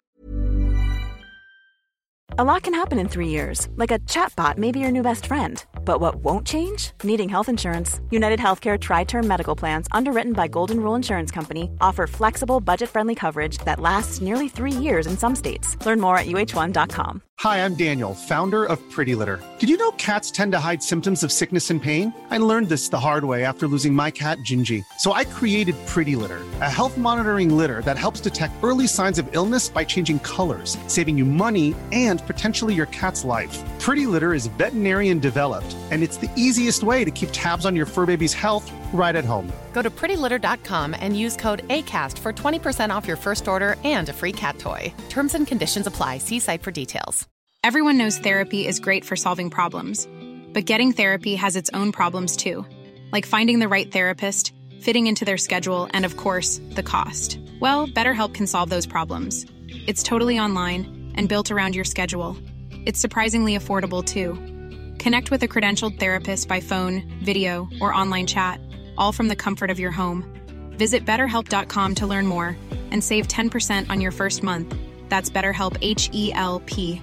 A lot can happen in three years, like a chatbot may be your new best friend. But what won't change? Needing health insurance. United Healthcare Tri-Term Medical Plans, underwritten by Golden Rule Insurance Company, offer flexible, budget-friendly coverage that lasts nearly three years in some states. Learn more at U H one dot com. Hi, I'm Daniel, founder of Pretty Litter. Did you know cats tend to hide symptoms of sickness and pain? I learned this the hard way after losing my cat, Gingy. So I created Pretty Litter, a health monitoring litter that helps detect early signs of illness by changing colors, saving you money and potentially your cat's life. Pretty Litter is veterinarian developed, and it's the easiest way to keep tabs on your fur baby's health right at home. Go to pretty litter dot com and use code ACAST for twenty percent off your first order and a free cat toy. Terms and conditions apply. See site for details. Everyone knows therapy is great for solving problems, but getting therapy has its own problems too, like finding the right therapist, fitting into their schedule, and of course, the cost. Well, BetterHelp can solve those problems. It's totally online and built around your schedule. It's surprisingly affordable too. Connect with a credentialed therapist by phone, video, or online chat, all from the comfort of your home. Visit better help dot com to learn more and save ten percent on your first month. That's BetterHelp, H E L P.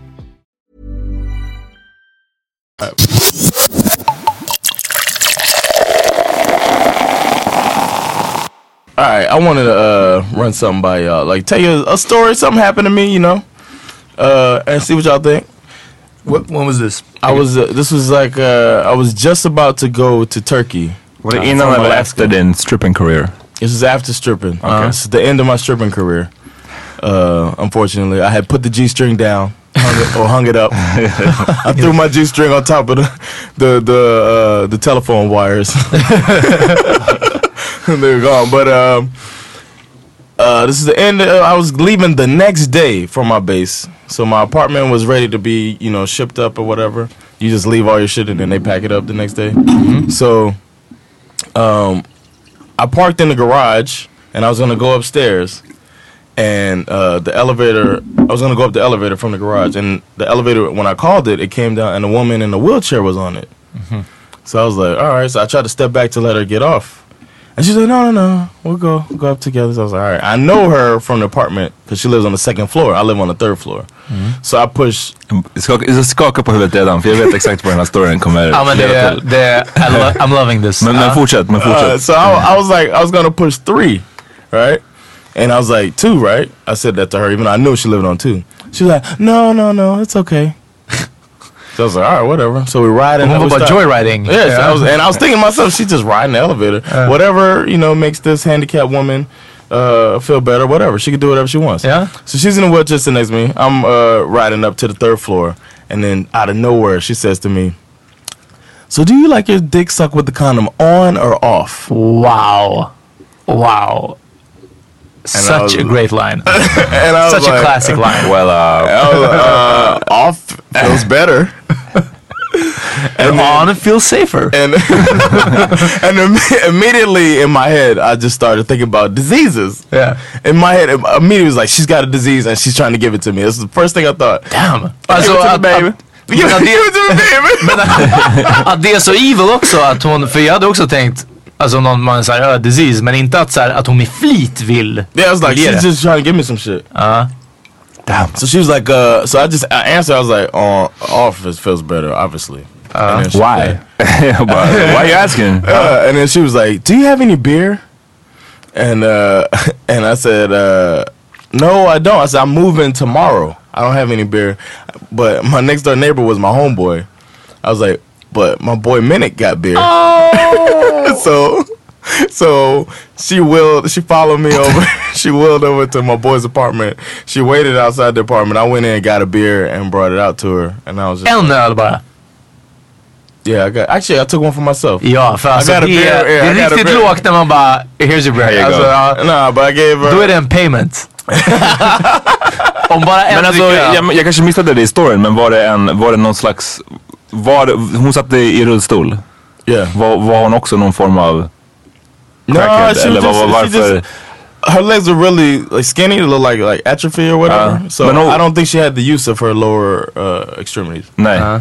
All right, I wanted to uh, run something by y'all. Like, tell you a story, something happened to me, you know, uh, and see what y'all think. What, when was this? I was. Uh, this was like uh, I was just about to go to Turkey. Var det innan eller efter din stripping career? This was after stripping. Okay. Uh, this is the end of my stripping career. Uh, unfortunately, I had put the G-string down. Hung it, or hung it up. I threw my G-string on top of the the the, uh, the telephone wires. They're gone. But um, uh, this is the end. Of, I was leaving the next day from my base, so my apartment was ready to be, you know, shipped up or whatever. You just leave all your shit and then they pack it up the next day. Mm-hmm. So, um, I parked in the garage and I was gonna go upstairs. And uh, the elevator, I was going to go up the elevator from the garage. And the elevator, when I called it, it came down and a woman in a wheelchair was on it. Mm-hmm. So I was like, all right. So I tried to step back to let her get off. And she's like, no, no, no. We'll go we'll go up together. So I was like, all right. I know her from the apartment because she lives on the second floor. I live on the third floor. Mm-hmm. So I push... Jag skakar på huvudet redan för jag vet exakt vad den här storyn kommer ja, men det, det, lo- I'm loving this. Men, men fortsätt, men fortsätt. Uh, so I, I was like, I was going to push three, right? And I was like, two, right? I said that to her, even though I knew she lived on two. She was like, no, no, no, it's okay. So I was like, all right, whatever. So we ride in. What about joyriding? Yeah, yeah. So I was, and I was thinking to myself, she's just riding the elevator. Uh, whatever, you know, makes this handicapped woman uh, feel better, whatever. She can do whatever she wants. Yeah. So she's in the wheelchair sitting next to me. I'm uh, riding up to the third floor. And then out of nowhere, she says to me, so do you like your dick sucked with the condom on or off? Wow. Wow. And Such was, a great line. And I Such was a like, classic line. Well, uh, I was like, uh off feels better. And, and on it feels safer. And and im- immediately in my head, I just started thinking about diseases. Yeah. In my head, immediately was like, she's got a disease and she's trying to give it to me. That's the first thing I thought. Damn. Alltså, give it to the baby. Give it to the baby. Men att det är så evil också att hon, för jag hade också tänkt, alltså någon man säger uh, disease, men inte att, så här, att hon med flit vill. Yeah, I was like, she's just trying to give me some shit. Uh, Damn. So she was like, uh, so I just I answered, I was like, on uh, off feels better, obviously. Uh, she, why? Why are you asking? Uh, and then she was like, do you have any beer? And uh, and I said, uh, no, I don't. I said, I'm moving tomorrow. I don't have any beer. But my next door neighbor was my homeboy. I was like, but my boy Minnick got beer. Oh. so so she willed, she followed me over. She wheeled over to my boy's apartment. She waited outside the apartment. I went in and got a beer and brought it out to her. And I was just en öl bara. Yeah, I got, actually I took one for myself. Ja, för alltså det, är, yeah, det är riktigt lågt när man bara, here's your beer. Alltså, uh, nah, but I gave her... Då är det en payment. Om bara en men alltså, jag, jag kanske missade det i storyn, men var det, en, var det någon slags... Var, hon satt i rullstol. Yeah. Var, var hon också någon form av crackhead? No, eller just, var, varför... Just, her legs are really like skinny, they look like like atrophy or whatever. Uh, so no, I don't think she had the use of her lower uh, extremities. Nej. Uh.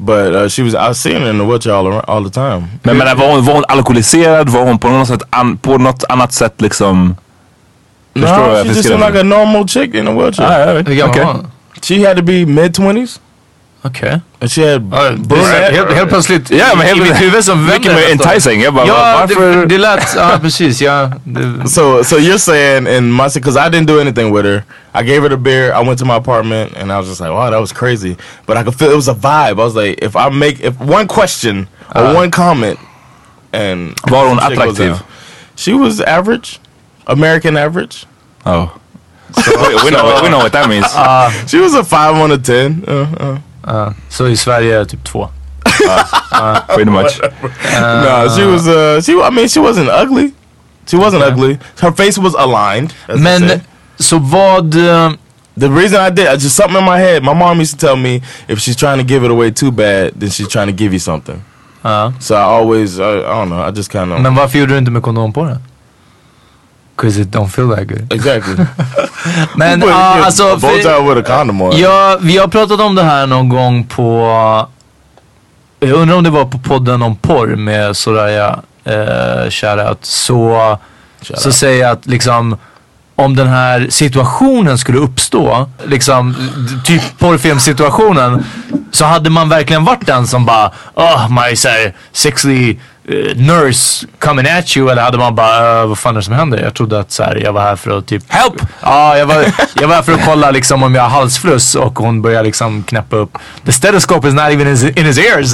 But uh, she was, I was seeing her in the wheelchair all, around, all the time. Men, men var, hon, var hon alkoholiserad? Var hon på något sätt an, på något annat sätt liksom? No, she just seemed like a normal chick in a wheelchair. Ah, right. Okay. Okay. She had to be mid twenties. Okay. And she had uh, brunette. Helt, helt plötsligt. Ja, men helt, i mitt huvud som mycket mer enticing. Jag bara, ja, varför? Det, det lät, ja precis, ja. Det. So, so you're saying in my, because I didn't do anything with her. I gave her the beer. I went to my apartment and I was just like, wow, that was crazy. But I could feel it was a vibe. I was like, if I make, if one question or uh, one comment and. Var hon attraktiv? She was average. American average. Oh. So, we, we, know, we know what that means. Uh, she was a five on a ten. Uh, uh. Uh, så i Sverige typ två. Uh, uh, pretty much. Uh, no, she was. Uh, she. I mean, she wasn't ugly. She wasn't okay. ugly. Her face was aligned. Men så vad? Uh, the reason I did, uh, just something in my head. My mom used to tell me if she's trying to give it away too bad, then she's trying to give you something. Uh. So I always, uh, I don't know. I just kind of. Men varför gjorde du inte med kondom på det? Because it don't feel that good. Exactly. Men uh, alltså för, with a condom on. Ja, vi har pratat om det här någon gång på, jag undrar om det var på podden om porr med Soraya eh, shoutout. Så, så säger jag att liksom om den här situationen skulle uppstå, liksom typ porrfilmsituationen, så hade man verkligen varit den som bara, oh my så här, sexy uh, nurse coming at you, eller hade man bara, uh, vad fan är det som händer? Jag trodde att så här, jag var här för att typ help! Ja, jag var, jag var här för att kolla liksom om jag har halsfluss, och hon börjar liksom knäppa upp. The stethoscope is not even in his, in his ears.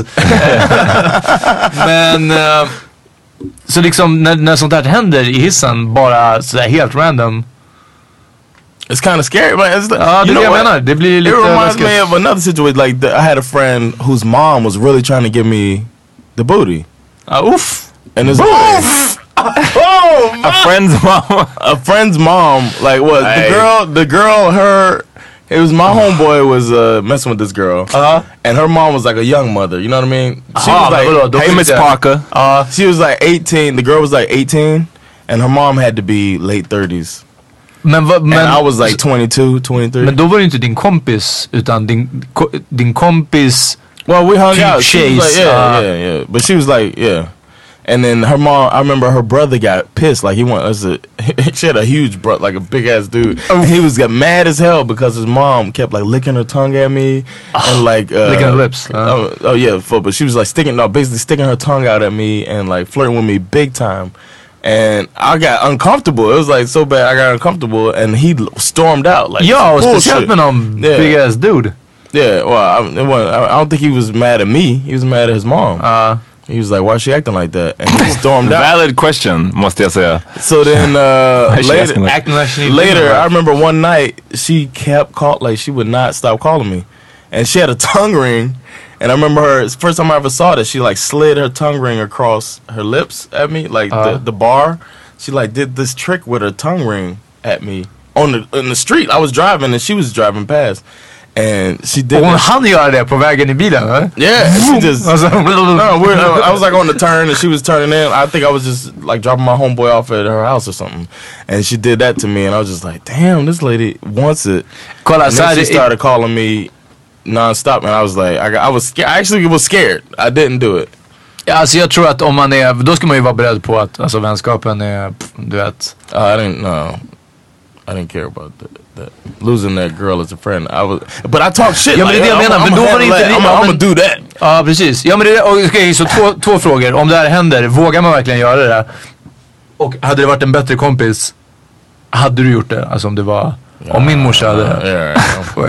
Men uh, så liksom när, när sånt här händer i hissen, bara så där helt random. It's kind of scary, but it's like, uh, you know what? Menar, det blir lite it reminds me of another situation. Like the, I had a friend whose mom was really trying to give me the booty. Uh, oof. And it's oof. Oh, a friend's mom. A friend's mom. Like what? Hey. The girl. The girl. Her. It was my homeboy was uh, messing with this girl, uh-huh. and her mom was like a young mother. You know what I mean? She uh-huh. was like, hey, Miss Parker. Uh, she was like eighteen. The girl was like eighteen, and her mom had to be late thirties. Men, va, men, and I was like twenty-two, twenty-three. Men då var det inte din kompis, utan din, ko, din kompis. Well, we hung out. She was like, yeah, uh, yeah, yeah. But she was like, yeah. And then her mom, I remember her brother got pissed. Like he wanted us to, she had a huge brother, like a big ass dude. And he was got mad as hell because his mom kept like licking her tongue at me and like uh, licking her lips. Huh? Oh, oh yeah, full, but she was like sticking, no, basically sticking her tongue out at me and like flirting with me big time. And I got uncomfortable. It was like so bad I got uncomfortable, and he stormed out like, yo, speciellt med någon yeah. big ass dude. Yeah, well, I, it wasn't, I, I don't think he was mad at me. He was mad at his mom. Uh, he was like, "Why is she acting like that?" And he stormed out. Valid question, måste jag säga. So then uh, later, like acting like she later, I remember one night she kept call like she would not stop calling me, and she had a tongue ring. And I remember her, first time I ever saw that, she like slid her tongue ring across her lips at me, like uh, the, the bar. She like did this trick with her tongue ring at me on the in the street. I was driving and she was driving past. And she did. Hon hann göra det på vägen i bilen, right? Yeah, she just. no, we're, I was like on the turn and she was turning in. I think I was just like dropping my homeboy off at her house or something. And she did that to me and I was just like, damn, this lady wants it. And then she started calling me non-stop and I was like, I, got, I was scared. I actually was scared. I didn't do it. Ja, alltså jag tror att om man är, då ska man ju vara beredd på att alltså vänskapen är, du vet. Uh, I didn't, no. I didn't care about that. That. Losing that girl as a friend. I was, but I talk shit. Ja, men like, det är det jag menar. Men då var det inte... I'm, I'm, I'm gonna do that. Ja, precis. Ja, men det är, okej, okay, så två, två frågor. Om det här händer, vågar man verkligen göra det? Och hade det varit en bättre kompis, hade du gjort det? Alltså om det var... Om min morsa hade det. Yeah.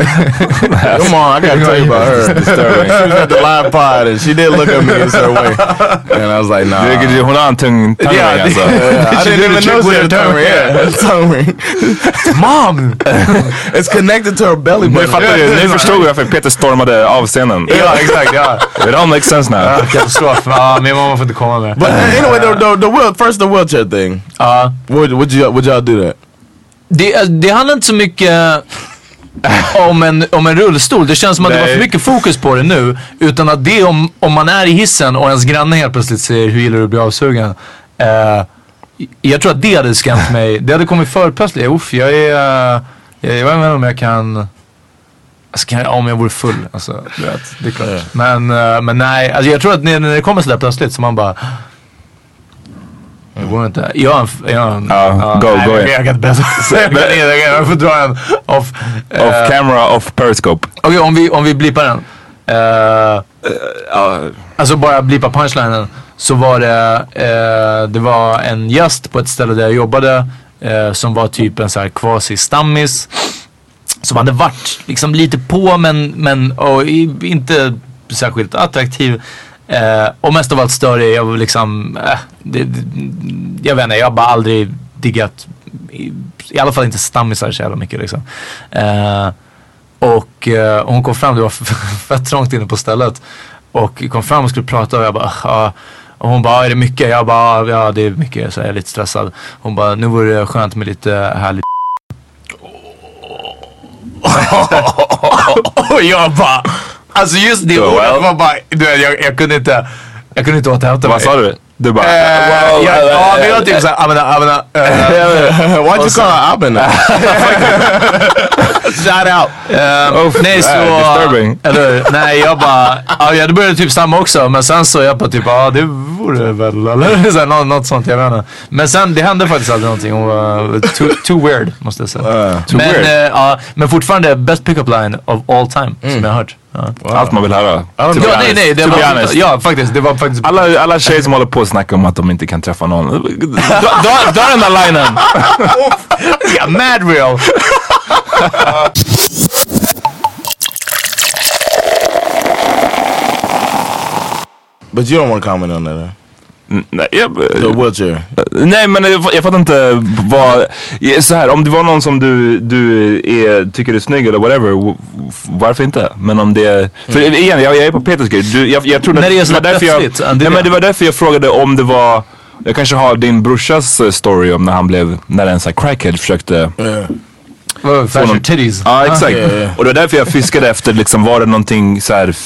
Come on, I gotta tell you about her. Disturbing. She was at the live pod and she did look at me in certain way. And I was like, nah. Hon har en tung tung ring alltså. I didn't even know she had a tongue ring. Yeah, tongue ring. Mom! It's connected to her belly button. Nu fattar du, nu förstod jag varför Peter stormade av scenen. Ja, exakt, ja. It all makes sense now. Katastrof. Ja, min mamma får inte komma med. But anyway, the, the, the wheel, first the wheelchair thing. Uh, would, would, you, would y'all do that? Det, det handlar inte så mycket om en, om en rullstol. Det känns som att Nej. det var för mycket fokus på det nu. Utan att det om, om man är i hissen och ens granne helt plötsligt säger hur gillar du att bli avsugen. Uh, jag tror att det hade skrämt mig. Det hade kommit för plötsligt. Uff, jag är... Uh, jag, jag vet inte om jag kan... Alltså, kan jag, om jag vore full, alltså, vet, det är klart. Yeah. Men, uh, men nej, alltså, jag tror att när, när det kommer sådär plötsligt så man bara... Det går inte. Jag jag uh, uh, go, nej, go jag, jag kan inte bättre. Jag får dra en off. Uh, off camera, off Periscope. Okej, okay, om vi, om vi blippar den. Uh, uh, uh. Alltså bara blippa punchlinen. Så var det, uh, det var en gäst på ett ställe där jag jobbade. Uh, som var typ en så här quasi-stammis. Som hade varit liksom lite på men, men och inte särskilt attraktiv. Uh, och mest av allt större, jag var liksom, uh, det, det, jag vet inte, jag har bara aldrig diggat, i, i alla fall inte stammisar så jävla mycket liksom. Uh, och uh, hon kom fram, det var fett trångt inne på stället. Och kom fram och skulle prata och jag bara, uh, och hon bara, är det mycket? Jag bara, ja det är mycket, så jag är lite stressad. Hon bara, nu vore det skönt med lite härligt. Och jag bara, alltså just det ordet var bara, du vet, jag, jag kunde inte, jag kunde inte återhämta mig. Vad sa du? Du bara, uh, wow, ja, uh, ja, men jag typ såhär, abena, abena. Why'd you call her abena? Shout out. Um, oh, nej, så, disturbing. Eller, nej, jag bara, ja, jag började typ samma också, men sen så jag bara typ, ja, det vore väl, eller så här, något, något sånt, jag vet inte. Men sen, det hände faktiskt aldrig någonting, hon var too, too weird, måste jag säga. Uh, men, uh, uh, men fortfarande, best pick-up line of all time, mm. som jag har hört. Ja. Wow. Allt man vill höra. Ja, nej, nej, det var, ja, faktiskt, det var faktiskt. Alla, alla tjejer som håller på att snacka om att de inte kan träffa någon. Dra den där linen. Ja, mad real. But you don't want to comment on that, huh? Nej, jag, The wheelchair. Nej, men jag, jag fattar inte vad, så här, om det var någon som du, du är, tycker är snygg eller whatever, varför inte? Men om det, för mm. igen, jag, jag är på Peters grej. Du, jag, jag trodde när det är så det var därför jag, nej, men det var därför jag frågade om det var, jag kanske har din brorsas story om när han blev, när en sån här crackhead försökte yeah. oh, fashion titties. Ja, exakt. Ah, yeah, yeah. Och det var därför jag fiskade efter liksom, var det någonting så här,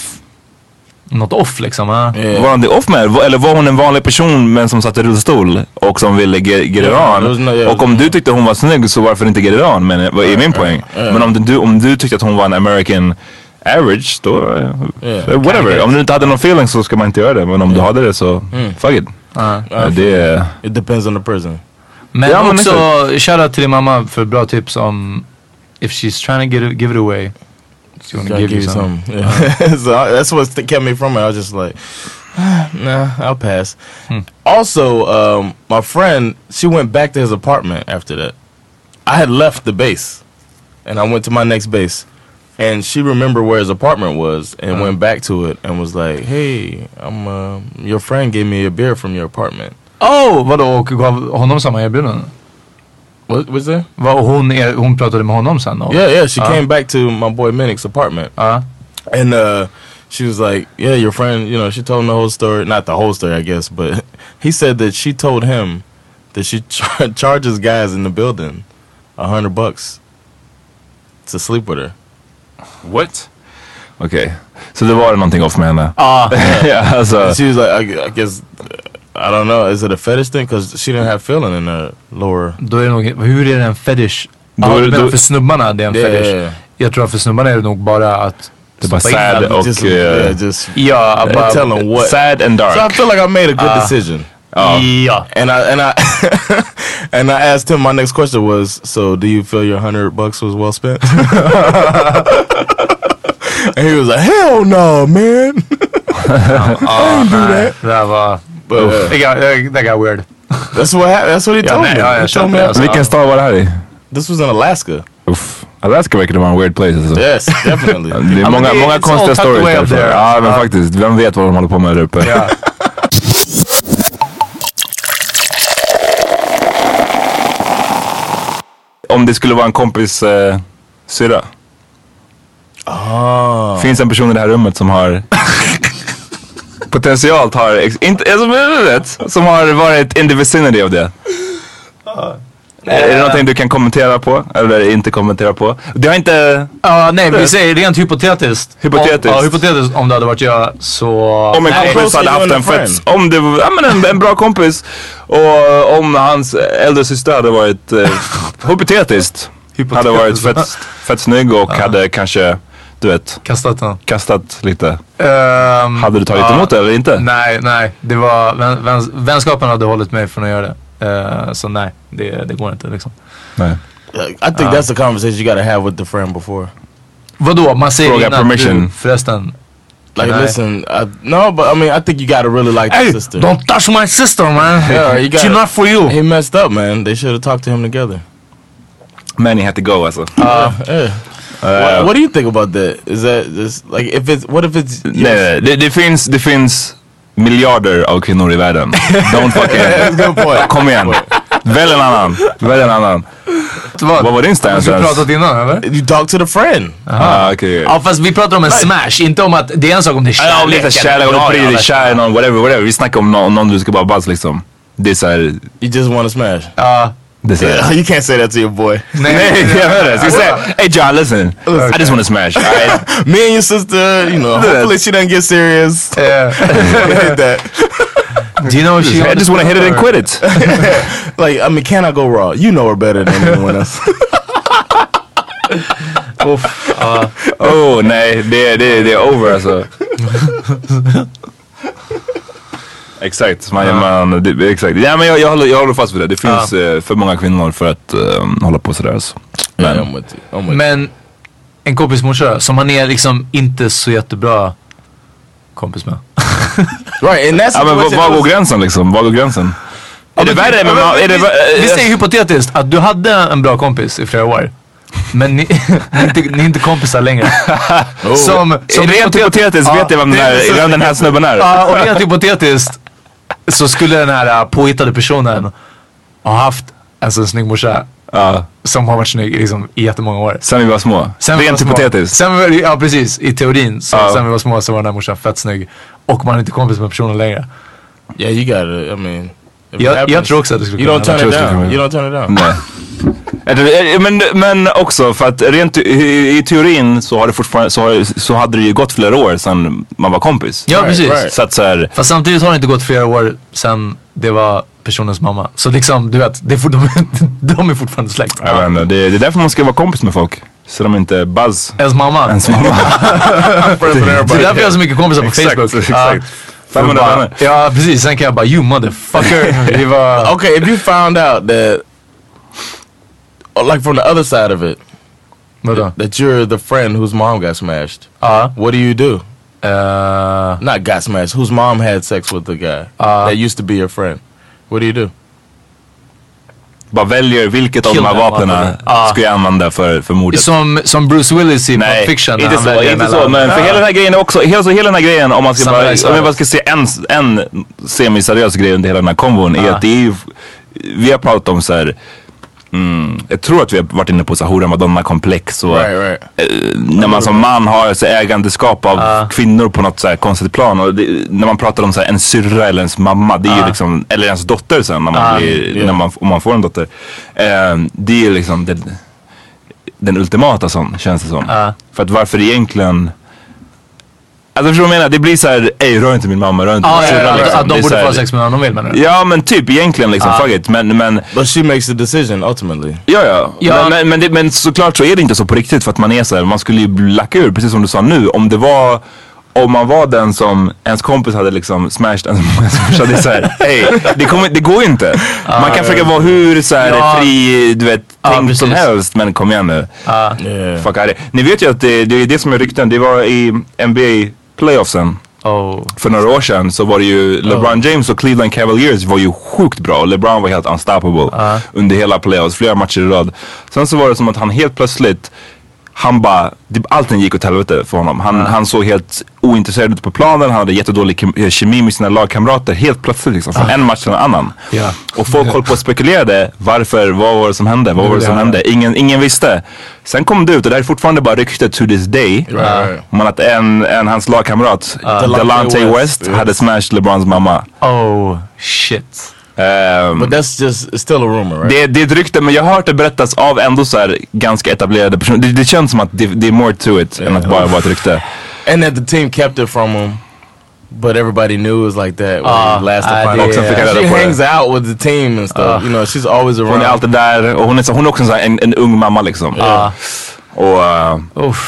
något off liksom, ja. Yeah. Var han det off med? Eller var hon en vanlig person men som satt i rullstol och som ville get it on? Yeah, och om du tyckte hon var snygg så varför inte get it on? Men vad är min poäng? Yeah. Men om du, om du tyckte att hon var en American average då, yeah. whatever. Om du inte hade någon feeling så ska man inte göra det. Men om yeah. du hade det så, mm. fuck it. Uh-huh. Uh, det, it depends on the person. Men ja, också, shoutout till din mamma för bra tips om if she's trying to get it, give it away. So you give, give you some. some. Yeah. Uh-huh. So that's what kept me from it. I was just like, nah, I'll pass. Hmm. Also, um, my friend, she went back to his apartment after that. I had left the base, and I went to my next base, and she remembered where his apartment was, and uh-huh. went back to it, and was like, "Hey, I'm uh, your friend gave me a beer from your apartment." Oh, vadå? Och gav honom samma erbjudande? What was that? Var hon, är, hon pratade med honom sen då? Yeah, yeah. She uh. came back to my boy Minnick's apartment. Uh. And uh, she was like, yeah, your friend, you know, she told him the whole story. Not the whole story, I guess. But he said that she told him that she char- charges guys in the building a hundred bucks to sleep with her. What? Okay. Så det var någonting off med henne. Ah. Yeah, alltså. She was like, I, I guess... I don't know. Is it a fetish thing? Because she didn't have feeling in her lower... Då är det nog... Hur är det en fetish? Ja, ah, du menar för snubbarna det är en yeah, fetish. Yeah, yeah. Jag tror att för snubbarna är det nog bara att... Det är bara sad och... Just, uh, yeah, just... Ja, bara... Tell them what... Sad and dark. So I feel like I made a good uh, decision. Uh, yeah. And I... And I, and I asked him, my next question was, so do you feel your hundred bucks was well spent? And he was like, hell no, man. uh, I didn't do that. That var... But, uh, that, got, that got weird. That's what happened. That's what he told yeah, me. Ja, he told me alltså. Vilken stad var det här i? This was in Alaska. Uff. Alaska verkar vara en weird place alltså. Yes, definitely. Det är många, I mean, många konstiga stories därför. There. Ja, men uh, faktiskt. Vem vet vad de håller på med där uppe. Yeah. Om det skulle vara en kompis eh, syra. Oh. Finns en person i det här rummet som har potentiellt har ex- inte, alltså, vet, som har varit in the vicinity av det. Uh. Är det någonting du kan kommentera på eller inte kommentera på? Det har inte... Ja, uh, nej, vi säger rent hypotetiskt. Hypotetiskt. Om, ja, hypotetiskt om det hade varit jag så... Om en nej, kompis hade haft en fett... Om det var ja, men en, en bra kompis och om hans äldre syster hade varit uh, hypotetiskt hade varit fett, fett snygg och uh. hade kanske du vet. Kastat den. Kastat lite. Um, hade du tagit ja, emot det eller inte? Nej, nej. Det var, vän, vän, vänskapen hade hållit mig från att göra det. Uh, så nej, det, det går inte liksom. Nej. I think uh, that's a conversation you gotta have with the friend before. Vadå? Man säger Fråga innan permission. Du, förresten. Like, listen, I, no, but I mean, I think you gotta really like hey, the sister. Don't touch my sister, man. Yeah, you gotta, she's not for you. He messed up, man. They should have talked to him together. Men he had to go, alltså. Uh, yeah. Uh, what, what do you think about that? Is that just like if it's what if it's nej, nej, det, det finns det finns miljarder av kvinnor i världen. Don't fucking kom igen. Välj en annan. Välj en annan. Vad? Vad var din stance? Har du pratat innan eller? You talk to the friend. Ah, okay. Ja fast vi pratar om en smash, inte om att det är en sak om det är kärlek. Ja, lite kärlek, om du bryr dig kär i någon, whatever, whatever. Vi snackar om någon, någon du ska bara buzz liksom. Det är såhär... You just wanna smash? Ja. Det är yeah, you can't say that to your boy. Nej, jag hör det. Ska jag säga, hey John, listen. Okay. I just wanna smash. Right? Me and your sister, you know, hopefully she doesn't get serious. Yeah. hit that. Do you know she I just wanna hit it and quit it. Like, I mean, can I go raw? You know her better than anyone else. Uff, uh. Oh nej, det, det, det är over alltså. Exakt, man, uh. man, det, exakt. Ja, men jag, jag, håller, jag håller fast vid det. Det finns uh. för många kvinnor för att um, hålla på sådär alltså. Men, yeah, I'm with you. I'm with men en kompis morsa som man är liksom inte så jättebra kompis med. Right, and that's ja, men vad går gränsen liksom? Vad går gränsen? Ja, är det värre? Men, men, är det, vi säger hypotetiskt att du hade en bra kompis i flera år. Men ni, ni, är, inte, ni är inte kompisar längre. Oh. Som, som rent hypotetiskt ja, vet jag vem den här, vem den här snubben är. Ja, och rent hypotetiskt så skulle den här påhittade personen ha haft alltså, en snygg morsa ja. Som har varit snygg liksom, i jättemånga år. Sen vi var små. Sen rent var hypotetiskt. Sen vi, ja precis, i teorin. Så, ja. Sen vi var små så var den här morsan fett snygg. Och man är inte kompis med personen längre. Yeah, you got it. I mean... Jag, jag tror också att det skulle kunna. You don't turn it down. You don't turn it down. Nej. men, men också för att rent i, i teorin så har det fortfarande så, har, så hade det ju gått flera år sedan man var kompis. Ja, right, precis. Right. Så att så här, fast samtidigt har det inte gått flera år sedan det var personens mamma. Så liksom, du vet, det är for, de, de är fortfarande släkt. Ja, men, det, det är därför man ska vara kompis med folk. Så de inte buzz. Ens mamma. Ens mamma. Det är därför jag har så mycket kompisar på exakt, Facebook. Exakt. Uh, bara, ja, precis. Sen kan jag bara, you motherfucker. Det var... Okay, if you found out that, like from the other side of it, that, that you're the friend whose mom got smashed, uh, what do you do? Uh, Not got smashed, whose mom had sex with the guy uh, that used to be your friend. What do you do? Bara väljer vilket av de här vapnen uh, ska jag använda för, för mordet. Som, som Bruce Willis i Pulp Fiction. Nej, inte så, inte så. Men för hela den här grejen är också, hela, så hela den här grejen, om man ska bara, om jag bara ska se en, en semi-seriös grej under hela den här konvon, uh. är att det är ju, vi har pratat om så här. Mm, jag tror att vi har varit inne på så hora Madonna-komplex och right, right. Eh, när man som man har så ägandeskap av uh. kvinnor på något så här konstigt plan och det, när man pratar om så här, en syrra eller ens mamma, det är uh. ju liksom, eller ens dotter sen när man uh. blir, yeah. när man, om man får en dotter, eh, det är liksom det, den ultimata sån, känns det som. Uh. För att varför egentligen. Alltså förstår du vad jag menar? Det blir såhär, ej rör inte min mamma, rör inte ah, min syrra. Ja, ja, liksom. att de borde få sex med någon de vill, menar du? Ja men typ egentligen liksom, ah. fuck it. Men, men, But she makes the decision ultimately. Ja ja, ja. Men, men, men, det, men såklart så är det inte så på riktigt för att man är såhär, man skulle ju lacka ur, precis som du sa nu. Om det var, om man var den som ens kompis hade liksom smashed en så det är såhär, hej, det, kommer, det går ju inte. Ah, man kan ja, försöka ja. vara hur såhär ja. fri, du vet, ah, tänkt som helst, men kom igen nu. Ah. Yeah. Fuck det. Ni vet ju att det, det är det som är rykten, det var i N B A playoffsen. Oh. För några år sedan så var det ju LeBron oh. James och Cleveland Cavaliers var ju sjukt bra. LeBron var helt unstoppable uh. under hela playoffs, flera matcher i rad. Sen så var det som att han helt plötsligt, han bara, allting gick åt helvete för honom. Han, uh. han såg helt ointresserad ut på planen, han hade jättedålig kemi med sina lagkamrater helt plötsligt liksom, från uh. en match till en annan. Yeah. Och folk höll på och spekulerade, varför, vad var det som hände, vad var det som hände? Ingen, ingen visste. Sen kom det ut och det är fortfarande bara ryktet to this day. Right. Man att en, en hans lagkamrat, uh. Delonte West, West yes. hade smashed LeBrons mamma. Oh shit. Um, But that's just still a rumor, right? Det, det är ett rykte, men jag har hört det berättas av ändå så här ganska etablerade personer. Det, det känns som att det, det är more to it yeah. än att bara vara ett rykte. And that the team kept it from him, but everybody knew it was like that when uh, last uh, time. Också yeah. She hangs out with the team and stuff. Uh, you know, she's always around. Hon är alltid där och hon är, så, hon är också en, en, en ung mamma liksom. Uh. Och uh, Uff.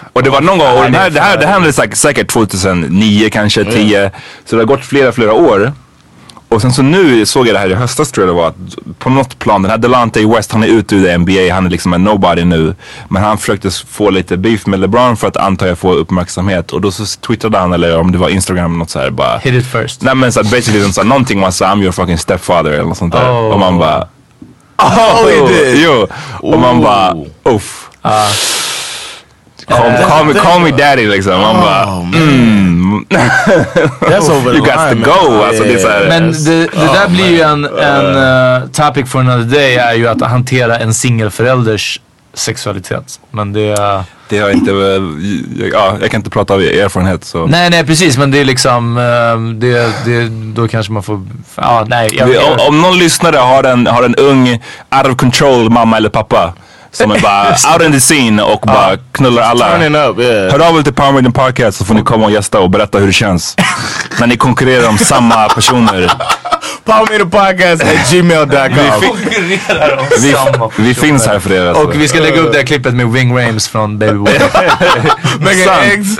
Och det var någon gång, och det här, det här, det här hände säkert, säkert tjugohundranio kanske, tio. Mm. Så det har gått flera, flera år. Och sen så nu såg jag det här i höstas tror jag det var, att på något plan, den här Delonte West, han är ute ur N B A, han är liksom en nobody nu. Men han försökte få lite beef med LeBron för att antar jag få uppmärksamhet. Och då så twittrade han, eller om det var Instagram, något så här bara... Hit it first. Nej men så här, basically så här, någonting man sa, I'm your fucking stepfather eller något sånt där. Oh. Och man bara... Oh, he did! Jo, och man bara, uff. Uh. Call, uh, call, me, call me daddy liksom. Man oh, bara, mm. That's over you got to line, go. man. Alltså, det är så här, men det, det oh, där blir ju en, God. en uh, topic for another day, är ju att hantera en singelförälders sexualitet. Men det... Det har inte... Ja, jag kan inte prata av erfarenhet så... Nej, nej precis. Men det är liksom... Det, det, då kanske man får... Ja, nej. Jag, jag, om, om någon lyssnare har en, har en ung out of control mamma eller pappa som är bara out in the scene och bara knullar alla. Up, yeah. Hör av er till Power Meeting Podcast så får ni komma och gästa och berätta hur det känns. När ni konkurrerar om samma personer. Power Meeting Podcast at gmail dot com. Vi konkurrerar om vi, samma vi finns här för er. Alltså. Och vi ska lägga upp det här klippet med Wing Rames från Baby Boy. Making eggs.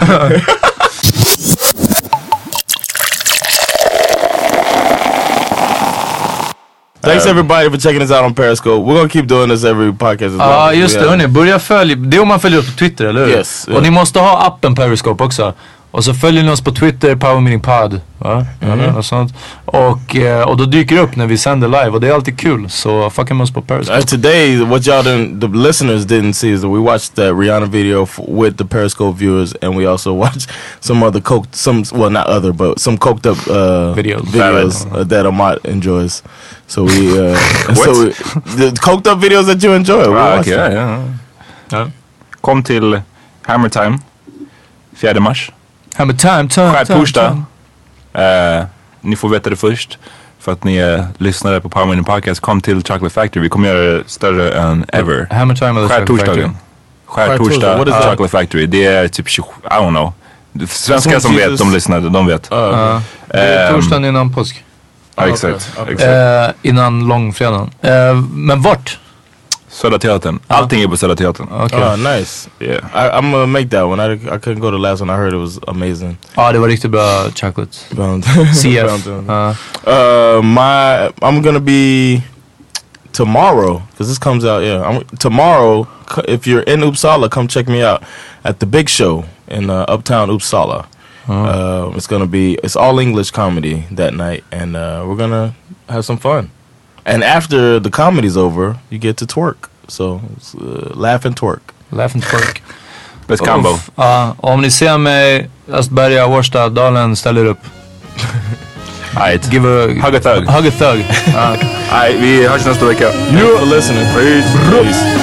Thanks everybody for checking us out on Periscope. We're gonna keep doing this every podcast. Ja, uh, just det. Hörni, börja följa. Det är om man följer oss på Twitter, eller hur? Yes. Och yeah. Ni måste ha appen Periscope också. Och så följer ni oss på Twitter, Power Meeting Pod. Va? Mm-hmm. Och, sånt. Och, och då dyker det upp när vi sänder live. Och det är alltid kul. Så fucking med oss på Periscope. Uh, today, what y'all didn't, the listeners didn't see is that we watched that Rihanna video f- with the Periscope viewers. And we also watched some other coked, some, well not other, but some coked up uh, videos, videos uh, that Amat enjoys. So we, uh, so we, the coked up videos that you enjoy. Ah, okay, ja, ja. Ja. Kom till Hammer Time fjärde mars. Hammer Time, time, Skärtorsdag. Uh, ni får veta det först. För att ni är lyssnare på Power Meeting Podcast. Kom till Chocolate Factory. Vi kommer göra det större än ever. Hammer Time eller Skärtorsdagen. Skärtorsdag, uh, Chocolate Factory. Det är typ, I don't know. Svenskar som vet, de lyssnade, de vet. Uh, uh, det är torsdagen innan påsk. Ja, uh, exakt. Okay. exakt. Uh, innan långfredagen. Uh, men vart? Södra Teatern. Allting är på Södra Teatern. Okay. Oh, nice. Yeah. I, I'm gonna make that one. I, I couldn't go to the last one. I heard it was amazing. Ja, ah, det var riktigt bra chocolate. C F. uh. Uh, my, I'm gonna be tomorrow, because this comes out, yeah. I'm, tomorrow, if you're in Uppsala, come check me out at the Big Show in uh, Uptown Uppsala. Uh. Uh, it's gonna be, it's all English comedy that night, and uh, we're gonna have some fun. And after the comedy's over, you get to twerk. So, it's, uh, laugh and twerk. Laugh and twerk. Best combo. Ja, uh, om ni ser mig, Östberga, Årsta, Dalen, ställer upp. Right. Give a hug a thug. Hug a thug. uh. Right, vi hörs nästa vecka. Thanks for listening. Peace. Peace.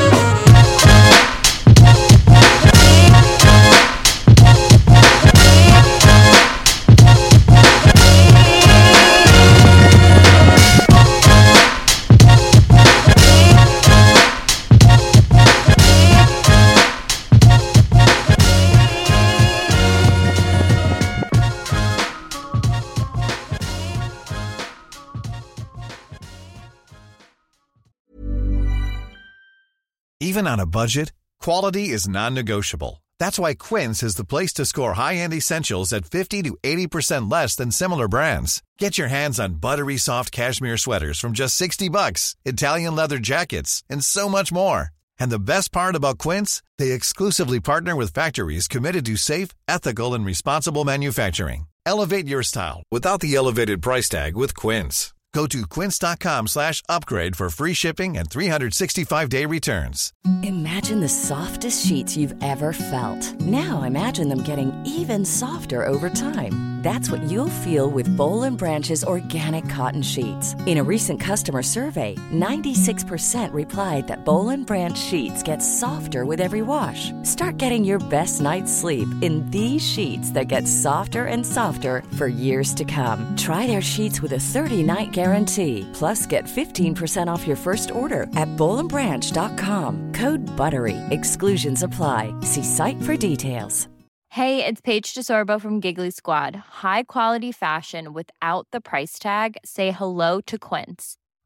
Even on a budget, quality is non-negotiable. That's why Quince is the place to score high-end essentials at fifty to eighty percent less than similar brands. Get your hands on buttery soft cashmere sweaters from just sixty bucks, Italian leather jackets, and so much more. And the best part about Quince, they exclusively partner with factories committed to safe, ethical, and responsible manufacturing. Elevate your style without the elevated price tag with Quince. Go to quince.com slash upgrade for free shipping and three sixty-five day returns. Imagine the softest sheets you've ever felt. Now imagine them getting even softer over time. That's what you'll feel with Boll and Branch's organic cotton sheets. In a recent customer survey, ninety-six percent replied that Boll and Branch sheets get softer with every wash. Start getting your best night's sleep in these sheets that get softer and softer for years to come. Try their sheets with a thirty-night guarantee. Plus, get fifteen percent off your first order at boll and branch dot com. Code BUTTERY. Exclusions apply. See site for details. Hey, it's Paige DeSorbo from Giggly Squad. High quality fashion without the price tag. Say hello to Quince.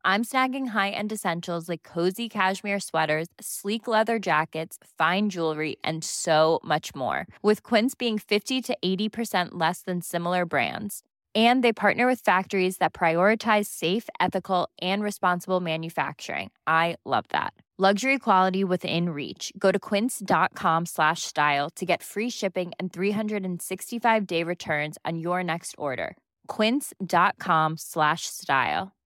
I'm snagging high-end essentials like cozy cashmere sweaters, sleek leather jackets, fine jewelry, and so much more. With Quince being fifty to eighty percent less than similar brands. And they partner with factories that prioritize safe, ethical, and responsible manufacturing. I love that. Luxury quality within reach. Go to quince.com slash style to get free shipping and three sixty-five day returns on your next order. Quince.com slash style.